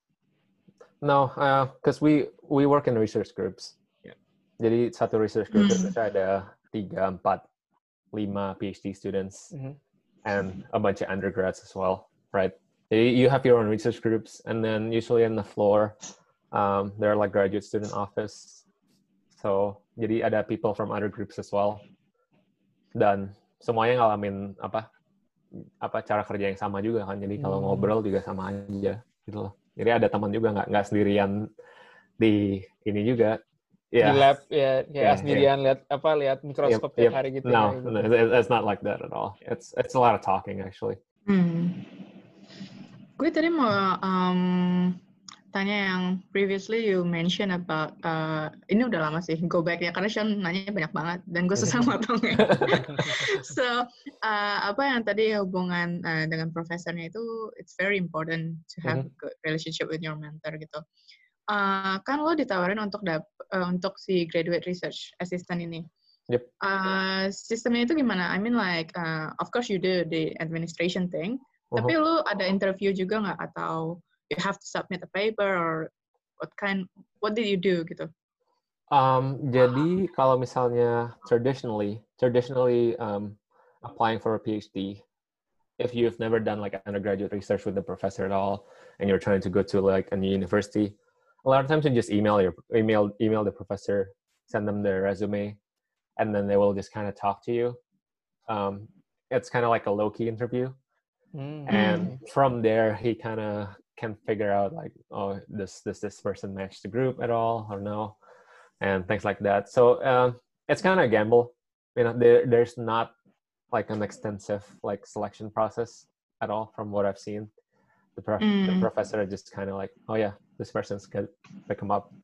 No, because we we work in research groups. Yeah. Jadi satu research group Hmm. itu ada tiga, empat, lima PhD students. Mhm. And a bunch of undergrads as well, right? You have your own research groups, and then usually on the floor, um, there are like graduate student office. So, jadi ada people from other groups as well. Dan semuanya ngalamin apa apa cara kerja yang sama juga kan. Jadi kalau Hmm. ngobrol juga sama aja gitu loh. Jadi ada teman juga nggak nggak sendirian di ini juga. Yeah. Di lab, ya, kayak Yeah, sendirian lihat apa lihat mikroskop Yep, tiap yep. hari gitu. No, ya, gitu. no, it- it's not like that at all. It's it's a lot of talking actually. Hmm. Gue tadi mau um, tanya yang previously you mention about uh, ini udah lama sih go back ya karena Sean nanya banyak banget dan gue susah motongnya. So uh, apa yang tadi hubungan uh, dengan profesornya itu it's very important to have Mhm. a good relationship with your mentor gitu. Uh, kan lo ditawarin untuk dap uh, untuk si graduate research assistant ini. Yep. Uh, sistemnya itu gimana? I mean like uh, of course you do the administration thing. Uh-huh. Tapi lu ada interview juga nggak atau you have to submit a paper or what kind what did you do gitu? Um, jadi kalau misalnya traditionally, traditionally um, applying for a PhD, if you've never done like undergraduate research with the professor at all, and you're trying to go to like a new university, a lot of times you just email your email email the professor, send them their resume, and then they will just kind of talk to you. Um, it's kind of like a low-key interview. Hmm. And from there, he kind of can figure out like, oh, does this this person match the group at all or no, and things like that. So um, it's kind of a gamble. You know, there there's not like an extensive like selection process at all from what I've seen. The, prof- the Mm. professor just kind of like, oh yeah, this person's good, pick them up,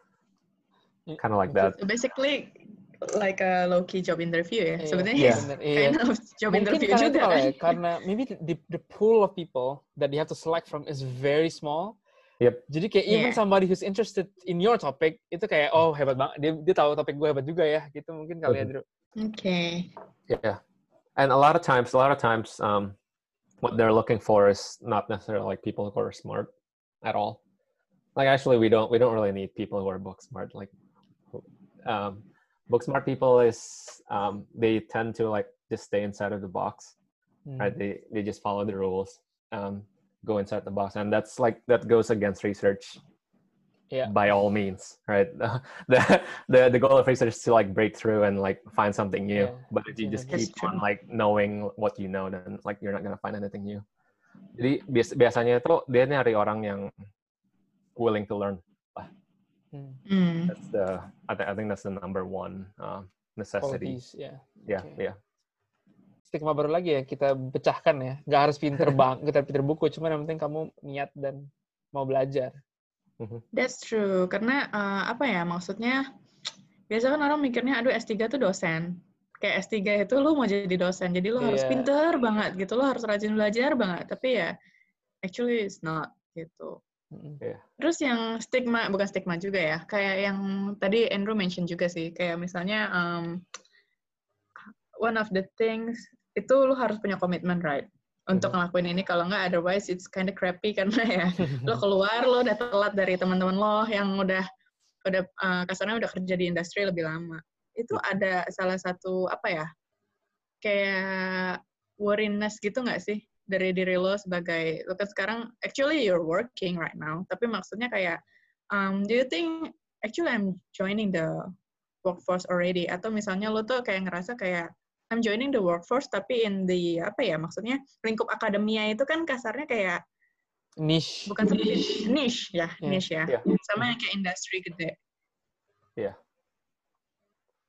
kind of like that. So basically like a low key job interview ya. Iya, Sebenarnya iya. it's bener, iya. kind of job Mungkin interview karena juga itu kali kan. ya, karena maybe the, the pool of people that you have to select from is very small. Yep. Jadi kayak even Yeah. somebody who's interested in your topic itu kayak oh hebat banget, dia dia tahu topik gue hebat juga ya, gitu mungkin kali ya, Drew. Okay. Yeah, and a lot of times, a lot of times, um, what they're looking for is not necessarily like people who are smart at all. Like actually, we don't we don't really need people who are book smart. Like, um, book smart people is um, they tend to like just stay inside of the box, Hmm. right? They they just follow the rules, um, go inside the box, and that's like that goes against research. Yeah. By all means, right? the the the goal of research is to like break through and like find something new. Yeah, But if you just that's keep true. on like knowing what you know, then like you're not gonna find anything new. Jadi bias, biasanya itu dia nyari orang yang willing to learn. Hmm. Hmm. That's the I, th- I think that's the number one uh, necessity. Qualities, ya. Yeah, Okay. yeah. Stigma baru lagi ya kita pecahkan ya. Nggak harus pinter bang, kita pinter buku, cuma yang penting kamu niat dan mau belajar. That's true. Karena uh, apa ya maksudnya biasa kan orang mikirnya aduh S tiga tuh dosen. Kayak S tiga itu lu mau jadi dosen. Jadi lu harus Iya. pinter banget gitu. Lu harus rajin belajar banget. Tapi ya actually it's not gitu. Mm-mm. Terus yang stigma, bukan stigma juga ya. Kayak yang tadi Andrew mention juga sih. Kayak misalnya um, one of the things itu lu harus punya komitmen, right? Untuk ngelakuin ini, kalau nggak otherwise it's kind of crappy karena ya lo keluar, lo udah telat dari teman-teman lo yang udah udah uh, kasarnya udah kerja di industri lebih lama. Itu ada salah satu apa ya kayak worriness gitu nggak sih dari diri lo sebagai lo kan sekarang actually you're working right now, tapi maksudnya kayak um, do you think actually I'm joining the workforce already, atau misalnya lo tuh kayak ngerasa kayak I'm joining the workforce tapi in the apa ya maksudnya lingkup akademia itu kan kasarnya kayak Niche. bukan seperti niche ya, Yeah. niche ya. Yeah. Sama yang kayak industri gede. Yeah.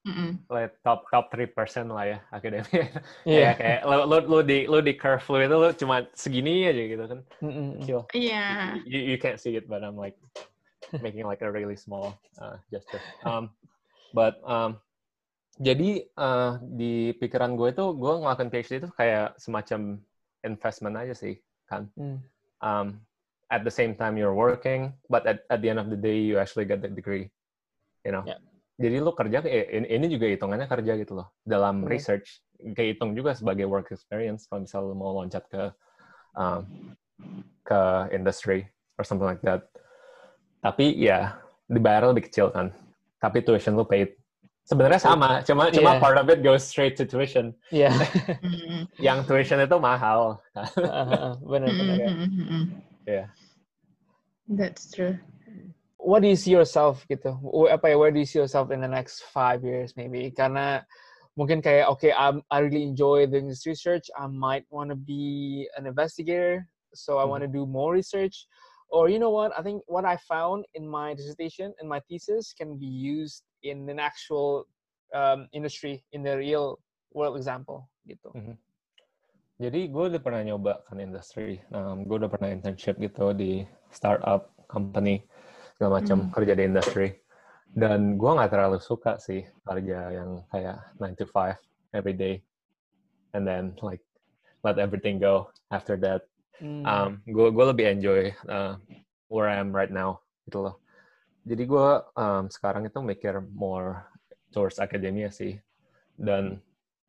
Mm-mm. like top top three percent lah ya akademia. Iya. Kayak kayak lu, lu lu di lu di curve lu itu lu cuma segini aja gitu kan. Mm-mm. Kecil. Iya. You, you can't see it, but I'm like making like a really small uh, gesture. Um, but um, jadi uh, di pikiran gue itu gue ngelakuin PhD itu kayak semacam investment aja sih kan. Mm. Um, at the same time you're working, but at at the end of the day you actually get the degree. You know. Yeah. Jadi lu kerja, eh, ini juga hitungannya kerja gitu loh. Dalam Bener. research, kehitung juga sebagai work experience kalau misal lu mau loncat ke um, ke industry or something like that. Tapi ya, dibayar lebih kecil kan. Tapi tuition lu paid. Sebenarnya sama, cuma Yeah. cuma part of it goes straight to tuition. Iya. Mm-mm. Yang tuition itu mahal. Benar benar. Mm-mm. Yeah. That's true. What do you see yourself gitu? Wh- Apa ya? Where do you see yourself in the next five years maybe? Karena mungkin kayak okay, I'm, I really enjoy doing this research. I might want to be an investigator, so I want to do more research. Or you know what? I think what I found in my dissertation and my thesis can be used in an actual um, industry, in the real world example gitu. Mhm. Jadi gue udah pernah nyoba kan industri. Um, gue udah pernah internship gitu di startup company segala macam, Hmm. kerja di industri. Dan gue nggak terlalu suka sih kerja yang kayak nine to five every day, and then like let everything go after that. Hmm. Um, gue gue lebih enjoy uh, where I am right now gitu loh. Jadi gue um, sekarang itu mikir more towards academia sih. Dan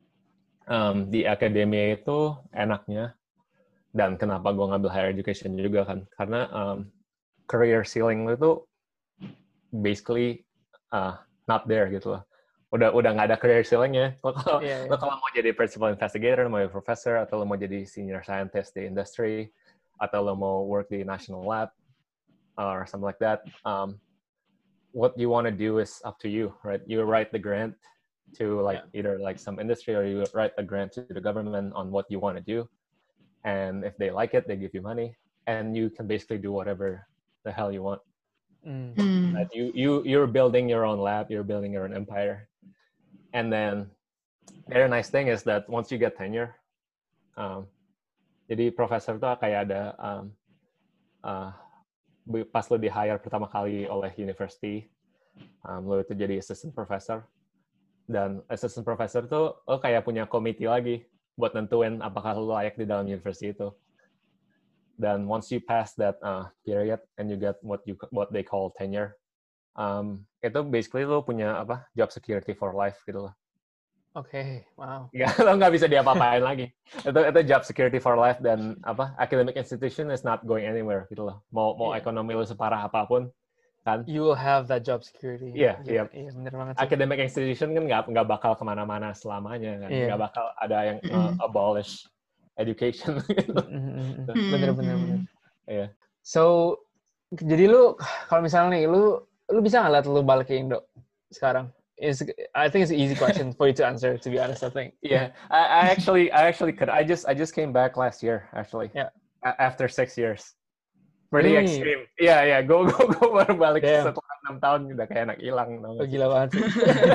um, di akademia itu enaknya, dan kenapa gue ngambil higher education juga kan, karena um, career ceiling itu basically uh, not there gitu loh. Udah udah nggak ada career ceiling-nya. Lo kalau Iya, iya. lo kalau mau jadi principal investigator, mau jadi professor, atau lo mau jadi senior scientist di industry, atau lo mau work di national lab or something like that, um, what you want to do is up to you, right? You write the grant to like Yeah. either like some industry, or you write a grant to the government on what you want to do, and if they like it, they give you money, and you can basically do whatever the hell you want. Mm. Mm. That you you you're building your own lab, you're building your own empire, and then the other nice thing is that once you get tenure, um, jadi profesor tuh kayak ada um, uh, pas lo di hire pertama kali oleh university, um, lo itu jadi assistant professor, dan assistant professor tuh lo kayak punya committee lagi buat nentuin apakah lo layak di dalam university itu. Dan once you pass that uh, period and you get what you what they call tenure, um, itu basically lo punya apa job security for life gitu loh. Oke, wow. Ya, lo nggak bisa diapa-apain lagi. Itu itu job security for life, dan apa academic institution is not going anywhere gitu loh. Mau mau Yeah. ekonomi lo separah apapun kan. You will have that job security. Iya, iya. Iya, bener banget sih. Academic institution kan nggak nggak bakal kemana-mana selamanya kan. Iya. Nggak bakal ada yang uh, Mm-mm. abolish education gitu. Mm, mm, mm, mm. Hmm. Bener, bener, bener. Iya. So, jadi lu kalau misalnya nih, lu lu bisa nggak lihat lu balik ke Indo sekarang? Is I think it's an easy question for you to answer. To be honest, I think. Yeah, I, I actually, I actually could. I just, I just came back last year, actually. Yeah. A- after six years. Pretty Really? extreme. Iya, iya. Go, go, go. Baru balik Damn. setelah enam tahun udah kayak anak hilang. Oh, gila banget sih.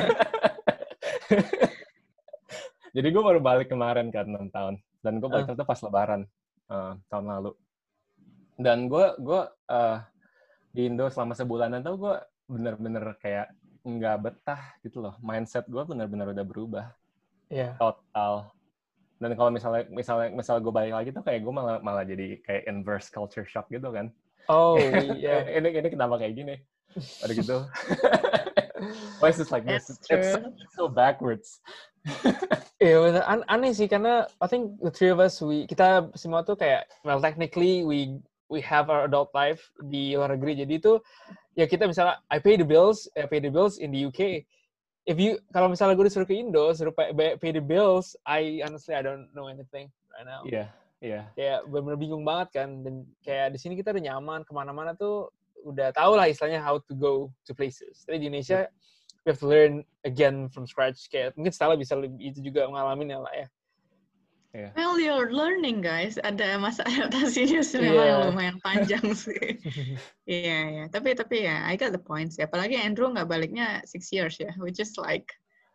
Jadi gue baru balik kemarin kan enam tahun, dan gue balik Uh. itu pas Lebaran uh, tahun lalu. Dan gue, gue uh, di Indo selama sebulanan tuh gue bener-bener kayak nggak betah gitu loh. Mindset gue bener-bener udah berubah. Iya. Total. Dan kalau misalnya misalnya misal gue balik lagi tuh kayak gue malah malah jadi kayak inverse culture shock gitu kan. Oh, iya. ini ini kenapa kayak gini? Ada gitu. Why is this like this? That's It's so, true. it's so backwards. Iya bener. An- aneh sih karena I think the three of us we kita semua tuh kayak well technically we we have our adult life di luar negeri, jadi itu ya kita misalnya I pay the bills, I pay the bills in the U K. If you kalau misalnya gue disuruh ke Indo suruh pay, pay the bills, I honestly I don't know anything right now. Iya, iya. Kayak bener-bener bingung banget kan, dan kayak di sini kita udah nyaman, kemana-mana tuh udah tahu lah istilahnya how to go to places. Tapi di Indonesia we have to learn again from scratch. Kayak mungkin Stella bisa lebih itu juga ngalamin ya lah ya. Iya. Well, you're learning, guys. Ada masa adaptasinya sih Iya. memang lumayan panjang sih. Iya, iya. Tapi tapi ya, I got the points. Ya. Apalagi Andrew nggak baliknya six years ya, which is like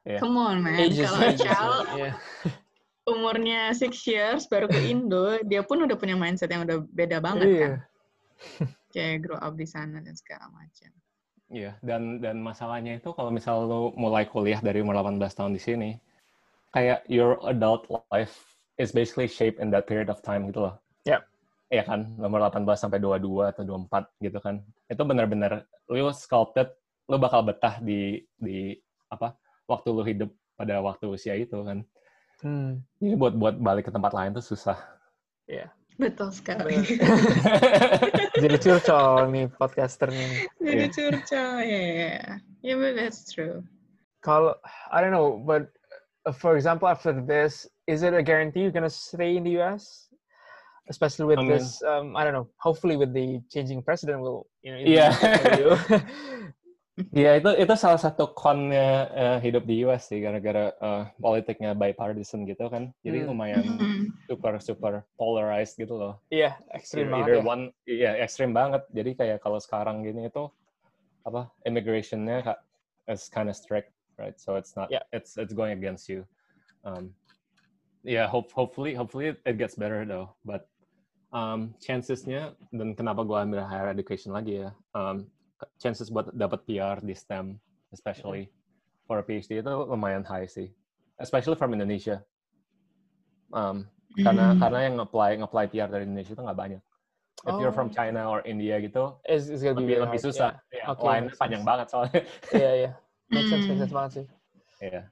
Yeah. Come on, man. Ages, Kalau ages, Cal yeah. umurnya six years baru ke Indo, dia pun udah punya mindset yang udah beda banget Iya. kan. Kayak grow up di sana dan segala macam. Iya, dan dan masalahnya itu kalau misal lo mulai kuliah dari umur delapan belas tahun di sini, kayak your adult life is basically shaped in that period of time gitu loh. Yep. Iya kan, umur delapan belas sampai dua puluh dua atau dua puluh empat gitu kan. Itu benar-benar lo sculpted, lo bakal betah di di apa? Waktu lo hidup pada waktu usia itu kan. Hmm. Jadi buat buat balik ke tempat lain tuh susah. Iya. Betul sekali. Jadi curcol nih podcaster nih. Jadi Yeah. curcol, ya. Yeah. Yeah, but that's true. Kalau I don't know, but uh, for example, after this, is it a guarantee you're gonna stay in the U S? Especially with I mean, this, um, I don't know. Hopefully, with the changing president, will you know? Yeah. For you. Iya, itu itu salah satu con-nya uh, hidup di U S sih, gara-gara uh, politiknya bipartisan gitu kan. Jadi Hmm. lumayan Mhm. super super polarized gitu loh. Iya, ekstrim Either, banget either ya. one, iya ekstrim banget. Jadi kayak kalau sekarang gini itu apa immigration-nya ka- is kind of strict, right? So it's not, Yeah. it's it's going against you. Um, yeah, hope hopefully hopefully it gets better though. But um, chances-nya, dan kenapa gue ambil higher education lagi ya, um, chances buat dapat P R di STEM, especially for a PhD itu lumayan high sih, especially from Indonesia. Um, karena Mm. karena yang apply apply P R dari Indonesia itu nggak banyak. If you're from Oh. China or India gitu, It's, it's gonna be lebih very lebih hard. susah. Yeah. Ya, Okay, line makes panjang sense. banget soalnya. Iya, iya. Make sense, make Hmm. sense banget sih. Iya.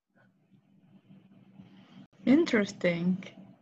Interesting.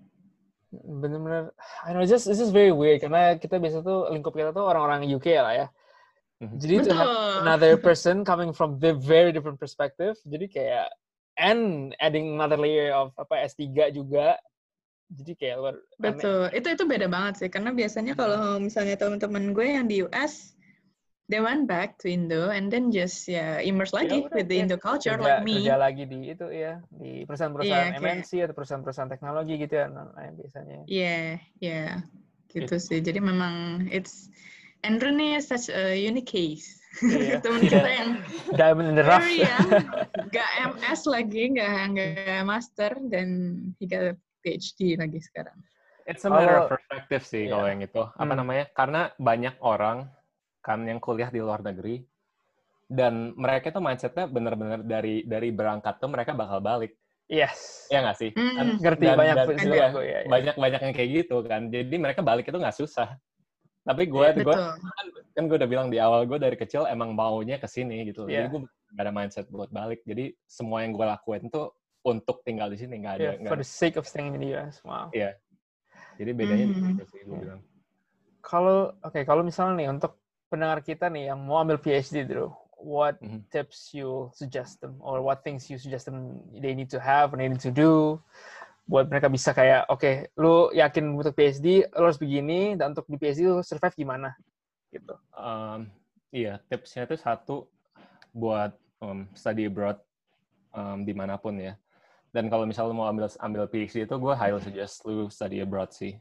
Bener-bener, I know, it's just, it's just very weird karena kita biasa tuh lingkup kita tuh orang-orang U K lah ya. Mhm. Jadi to have Betul. another person coming from the very different perspective, jadi kayak and adding another layer of apa S tiga juga, jadi kayak luar aneh. Betul. Itu itu beda banget sih karena biasanya kalau misalnya teman-teman gue yang di U S, they went back to Indo and then just ya immerse Ya lagi udah, with the ya, Indo culture kerja, like me. kerja lagi di itu ya, di perusahaan-perusahaan Iya, M N kayak- C atau perusahaan-perusahaan teknologi gitu ya, nah, nah, biasanya. Iya, iya. Gitu sih. Jadi memang it's Andrew nih such a unique case. Iya. Temen kita yang Diamond in the rough. very young, gak M S lagi, gak, gak master, dan he got a PhD lagi sekarang. It's a matter of Kalau- perspective sih Iya. kalau yang itu. Apa Hmm. namanya? Karena banyak orang kan yang kuliah di luar negeri dan mereka tuh mindsetnya bener-bener dari dari berangkat tuh mereka bakal balik. Yes. Ya nggak sih? Hmm. Kan, Ngerti, dan, banyak dan, juga iya, gue, ya, ya. banyak banyak yang kayak gitu kan. Jadi mereka balik itu nggak susah. Tapi gue, gue Betul. kan, kan gue udah bilang di awal gue dari kecil emang maunya ke sini gitu. Iya. Jadi gue nggak ada mindset buat balik. Jadi semua yang gue lakuin tuh untuk tinggal di sini, nggak ada. Yeah, nggak for ada. the sake of staying in the U S. Wow. Iya. Jadi bedanya di Mhm. situ sih gue Iya. bilang. Kalau oke, kalau misalnya nih untuk pendengar kita nih yang mau ambil PhD dulu, what Mhm. tips you suggest them or what things you suggest them they need to have or they need to do buat mereka bisa kayak oke, lu yakin untuk PhD lu harus begini dan untuk di PhD lu survive gimana gitu. Um, iya, tipsnya itu satu buat um, study abroad um, dimanapun ya. Dan kalau misalnya lu mau ambil ambil PhD itu, gue highly suggest lu study abroad sih.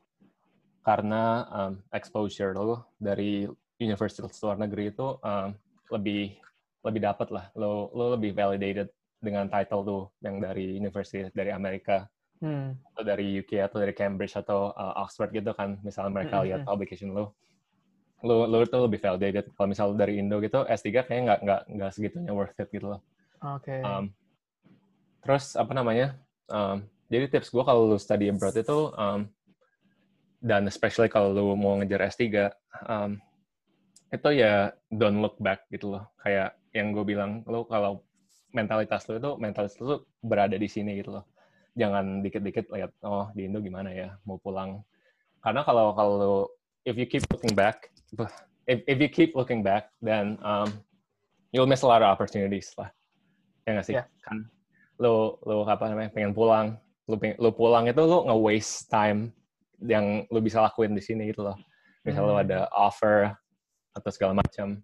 Karena um, exposure lu dari universitas luar negeri itu um, lebih lebih dapat lah. Lu lu lebih validated dengan title lu yang dari universitas dari Amerika Hmm. atau dari U K atau dari Cambridge atau uh, Oxford gitu kan. Misalnya mereka lihat Mm-hmm. publication lu. Lu lu tuh lebih validated. Kalau misal dari Indo gitu, S tiga kayaknya nggak nggak nggak segitunya worth it gitu loh. Oke. Um, terus apa namanya? Um, jadi tips gue kalau lu study abroad itu um, dan especially kalau lu mau ngejar S tiga, um, itu ya don't look back gitu loh. Kayak yang gue bilang, lu kalau mentalitas lu itu mentalitas lu berada di sini gitu loh. Jangan dikit-dikit lihat, oh di Indo gimana ya, mau pulang. Karena kalau kalau lu, if you keep looking back, if if you keep looking back, then um, you'll miss a lot of opportunities lah. Ya nggak sih? Yeah. Kan lu lu apa namanya pengen pulang, lu pengen, lu pulang itu lu nge-waste time yang lu bisa lakuin di sini gitu loh. Misal Hmm. lu ada offer atau segala macam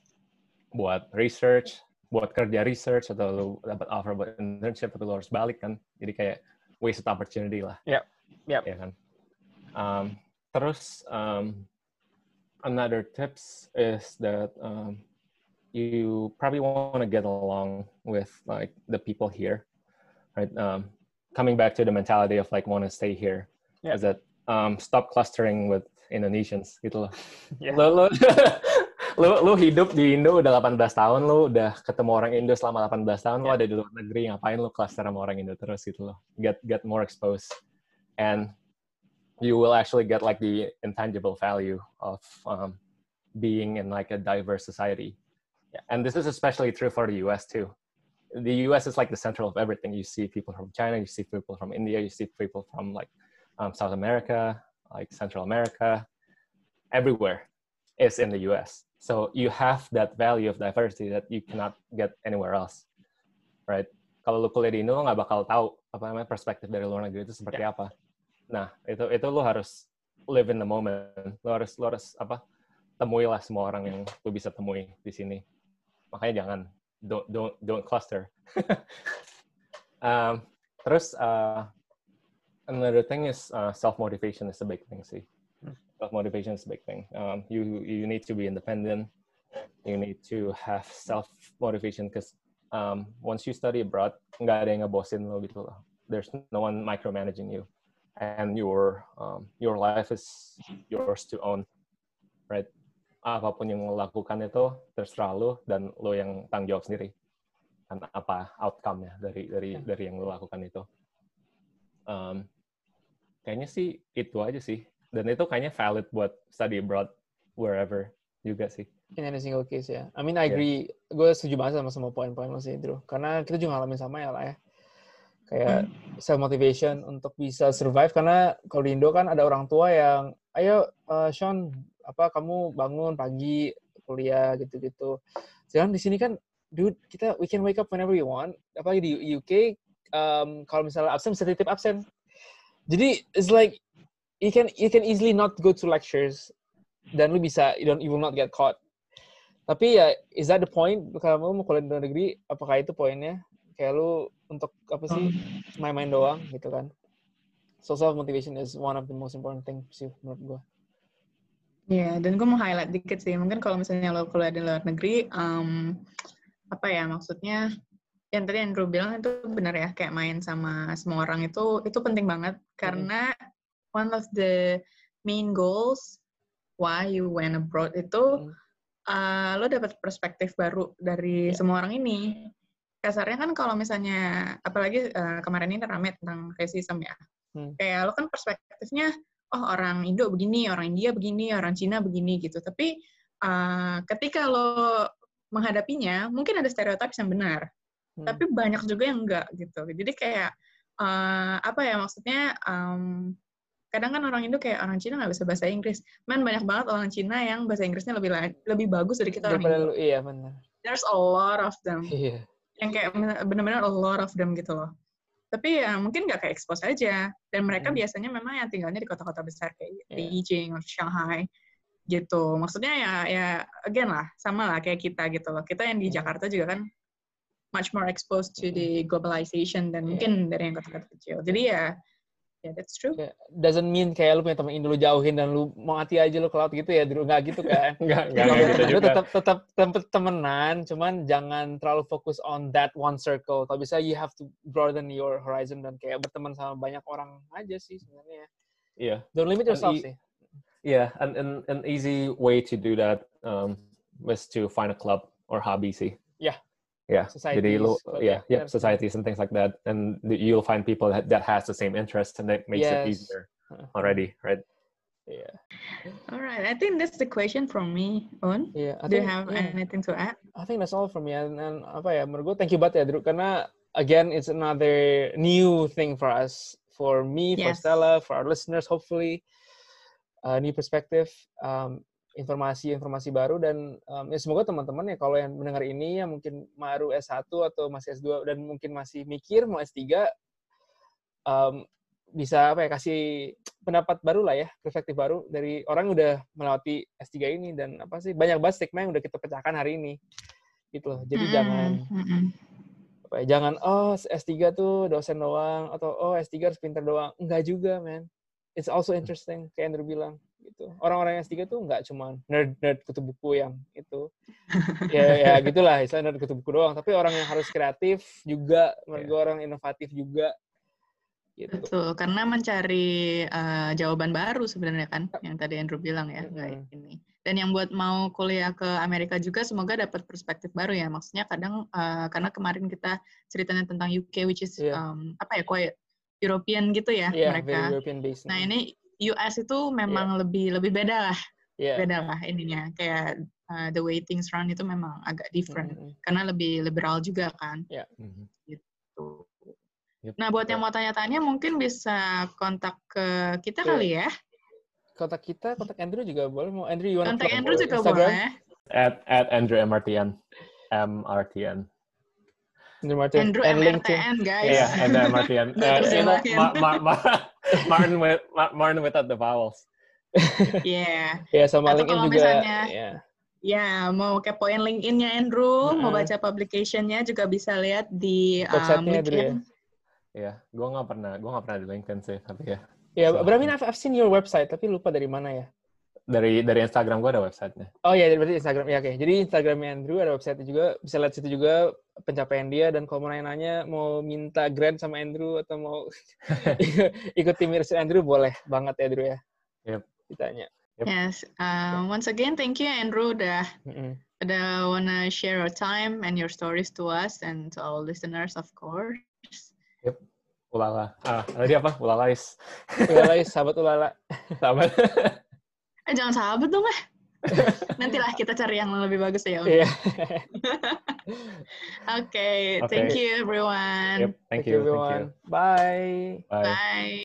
buat research, buat kerja research atau lu dapat offer buat internship tapi lu harus balik kan. Jadi kayak wasted opportunity lah. Yep. Yep. Ya kan. Um, terus um, another tips is that um, you probably want to get along with like the people here, right? Um, coming back to the mentality of like want to stay here, Yeah. is that um, stop clustering with Indonesians gitu loh. Yeah. Lo, lo, lo, lo hidup di Indo udah delapan belas tahun, lo udah ketemu orang Indo selama delapan belas tahun, lo Yeah. ada di luar negeri, ngapain lo cluster sama orang Indo terus gitu loh. Get get more exposed, and you will actually get like the intangible value of um, being in like a diverse society. Yeah. And this is especially true for the U S too. The U S is like the center of everything. You see people from China, you see people from India, you see people from like um, South America, like Central America, everywhere is in the U S. So you have that value of diversity that you cannot get anywhere else, right? Kalau lu kuliah di Indo, lo nggak bakal tahu apa namanya perspektif dari luar negeri itu seperti Yeah. apa. Nah, itu itu lu harus live in the moment. Lu harus lu harus apa? Temuilah semua orang yang lu bisa temui di sini. Makanya jangan don't don't don't cluster. um, terus uh, another thing is uh, self motivation is a big thing sih. Self motivation is a big thing. Um, you you need to be independent. You need to have self motivation because um, once you study abroad, nggak ada yang ngebosin lo gitu loh. There's no one micromanaging you, and your um, your life is yours to own, right? Apapun yang lo lakukan itu terserah lo dan lo yang tanggung jawab sendiri kan apa outcome-nya dari dari dari yang lo lakukan itu. Um, kayaknya sih itu aja sih, dan itu kayaknya valid buat study abroad wherever juga sih. In any single case ya. I mean I agree. Yeah. Gue setuju banget sama semua poin-poin lo sih, Drew. Karena kita juga ngalamin sama ya lah ya. Kayak self motivation untuk bisa survive, karena kalau di Indo kan ada orang tua yang ayo uh, Sean apa kamu bangun pagi kuliah gitu-gitu. Sedangkan di sini kan dude kita we can wake up whenever we want. Apalagi di U K um, kalau misalnya absen bisa titip absen. Jadi it's like you can you can easily not go to lectures dan lu bisa you don't you will not get caught. Tapi ya is that the point kalau mau kuliah di luar negeri, apakah itu poinnya? Kayak lu untuk apa sih main-main doang gitu kan. So self motivation is one of the most important thing sih menurut gue. Iya, yeah, dan gue mau highlight dikit sih. Mungkin kalau misalnya lo kuliah di luar negeri, um, apa ya maksudnya? Yang tadi Andrew bilang itu benar ya, kayak main sama semua orang itu itu penting banget karena mm-hmm. one of the main goals why you went abroad itu mm-hmm. uh, lo dapat perspektif baru dari yeah. semua orang ini. Kasarnya kan kalau misalnya, apalagi uh, kemarin ini rame tentang racism ya, hmm. kayak lo kan perspektifnya, oh orang Indo begini, orang India begini, orang Cina begini gitu. Tapi uh, ketika lo menghadapinya, mungkin ada stereotip yang benar, hmm. tapi banyak juga yang enggak gitu. Jadi kayak uh, apa ya maksudnya? Um, kadang kan orang Indo kayak orang Cina nggak bisa bahasa Inggris. Man banyak banget orang Cina yang bahasa Inggrisnya lebih lebih bagus dari kita orang Indo. Iya benar. There's a lot of them. Iya. Yang kayak benar-benar a lot of them gitu loh. Tapi ya mungkin nggak kayak expose aja. Dan mereka hmm. biasanya memang yang tinggalnya di kota-kota besar kayak yeah. Beijing atau Shanghai gitu. Maksudnya ya ya again lah, sama lah kayak kita gitu loh. Kita yang di hmm. Jakarta juga kan much more exposed to the globalization dan yeah. mungkin dari yang kota-kota kecil. Jadi ya yeah, that's true. Yeah. Doesn't mean kayak lu punya teman Indo lu jauhin dan lu mau mati aja lu ke laut gitu ya, Drew. Nggak gitu kan? Nggak, nggak gitu juga. Lu tetap, tetap, tetap temenan, cuman jangan terlalu fokus on that one circle. Kalau bisa you have to broaden your horizon dan kayak berteman sama banyak orang aja sih sebenarnya. Iya. Yeah. Don't limit yourself e- sih. Yeah, and, and an easy way to do that um, was to find a club or hobby sih. Yeah. Yeah, jadi lu, yeah, yeah, yeah, societies and things like that, and you'll find people that, that has the same interest, and that makes yes. it easier already, right? Yeah. All right, I think that's the question from me, On. Yeah. I Do think, you have yeah. anything to add? I think that's all from me. And, and apa ya, menurut gue thank you banget ya, Drew, karena again it's another new thing for us, for me, for yes. Stella, for our listeners, hopefully, uh, new perspective. Um, informasi-informasi baru dan um, ya semoga teman-teman ya kalau yang mendengar ini ya mungkin baru S satu atau masih S dua dan mungkin masih mikir mau S tiga um, bisa apa ya kasih pendapat baru lah ya, perspektif baru dari orang yang udah melewati S tiga ini dan apa sih banyak banget stigma yang udah kita pecahkan hari ini gitu loh. Jadi mm-hmm. jangan mm-hmm. apa ya, jangan oh S tiga tuh dosen doang atau oh S tiga harus pintar doang. Enggak juga, man. It's also interesting kayak Andrew bilang gitu. gitu. Orang-orang yang S tiga tuh nggak cuma nerd-nerd kutu buku yang itu. ya ya gitulah, istilah nerd kutu buku doang. Tapi orang yang harus kreatif juga, menurut gue orang inovatif juga. Gitu. Betul, karena mencari uh, jawaban baru sebenarnya kan, yang tadi Andrew bilang ya, kayak Mm-hmm. ini. Dan yang buat mau kuliah ke Amerika juga, semoga dapat perspektif baru ya. Maksudnya kadang, uh, karena kemarin kita ceritanya tentang U K, which is, yeah. um, apa ya, quite European gitu ya yeah, mereka. Very European based. Nah ini U S itu memang yeah. lebih lebih beda lah, yeah. beda lah ininya. Kayak uh, the way things run itu memang agak different, mm-hmm. karena lebih liberal juga kan. Yeah. Gitu. Yep. Nah, buat yang mau tanya-tanya mungkin bisa kontak ke kita yeah. kali ya. Kontak kita, kontak Andrew juga boleh. Mau Andrew, you wanna kontak Andrew juga Instagram? boleh. At at Andrew M R T N, M R T N. Andrew Martin. Andrew and M R T N guys. Yeah, and M R T N. uh, you know, Ma- Ma- Ma- Martin with Martin without the vowels. Yeah. Ya yeah, sama Atau LinkedIn kalau juga. Misalnya, yeah. Ya, mau kepoin LinkedIn-nya Andrew, uh-uh. mau baca publication-nya juga bisa lihat di um, LinkedIn. Iya, gue nggak pernah, gue nggak pernah di LinkedIn sih, tapi ya. Ya, yeah, but I mean I've, I've seen your website, tapi lupa dari mana ya. Dari dari Instagram gue ada website-nya. Oh iya, yeah, berarti Instagram ya, oke. Okay. Jadi Instagramnya Andrew ada website-nya juga, bisa lihat situ juga pencapaian dia, dan kalau mau nanya-nanya mau minta grant sama Andrew atau mau ikut tim research Andrew, boleh banget ya Andrew ya. Yep. Ditanya. Yep. Yes. Um, once again, thank you Andrew udah mm-hmm. udah wanna share your time and your stories to us and to our listeners, of course. Yep. Ulala. Ah, tadi apa? Ulalais. Ulalais, sahabat ulala. Sahabat. Eh, jangan sahabat dong lah. Nantilah kita cari yang lebih bagus ya. Iya. Okay, Okay. thank you everyone. Yep. Thank, Thank you. you everyone. Thank you. Bye. Bye. Bye.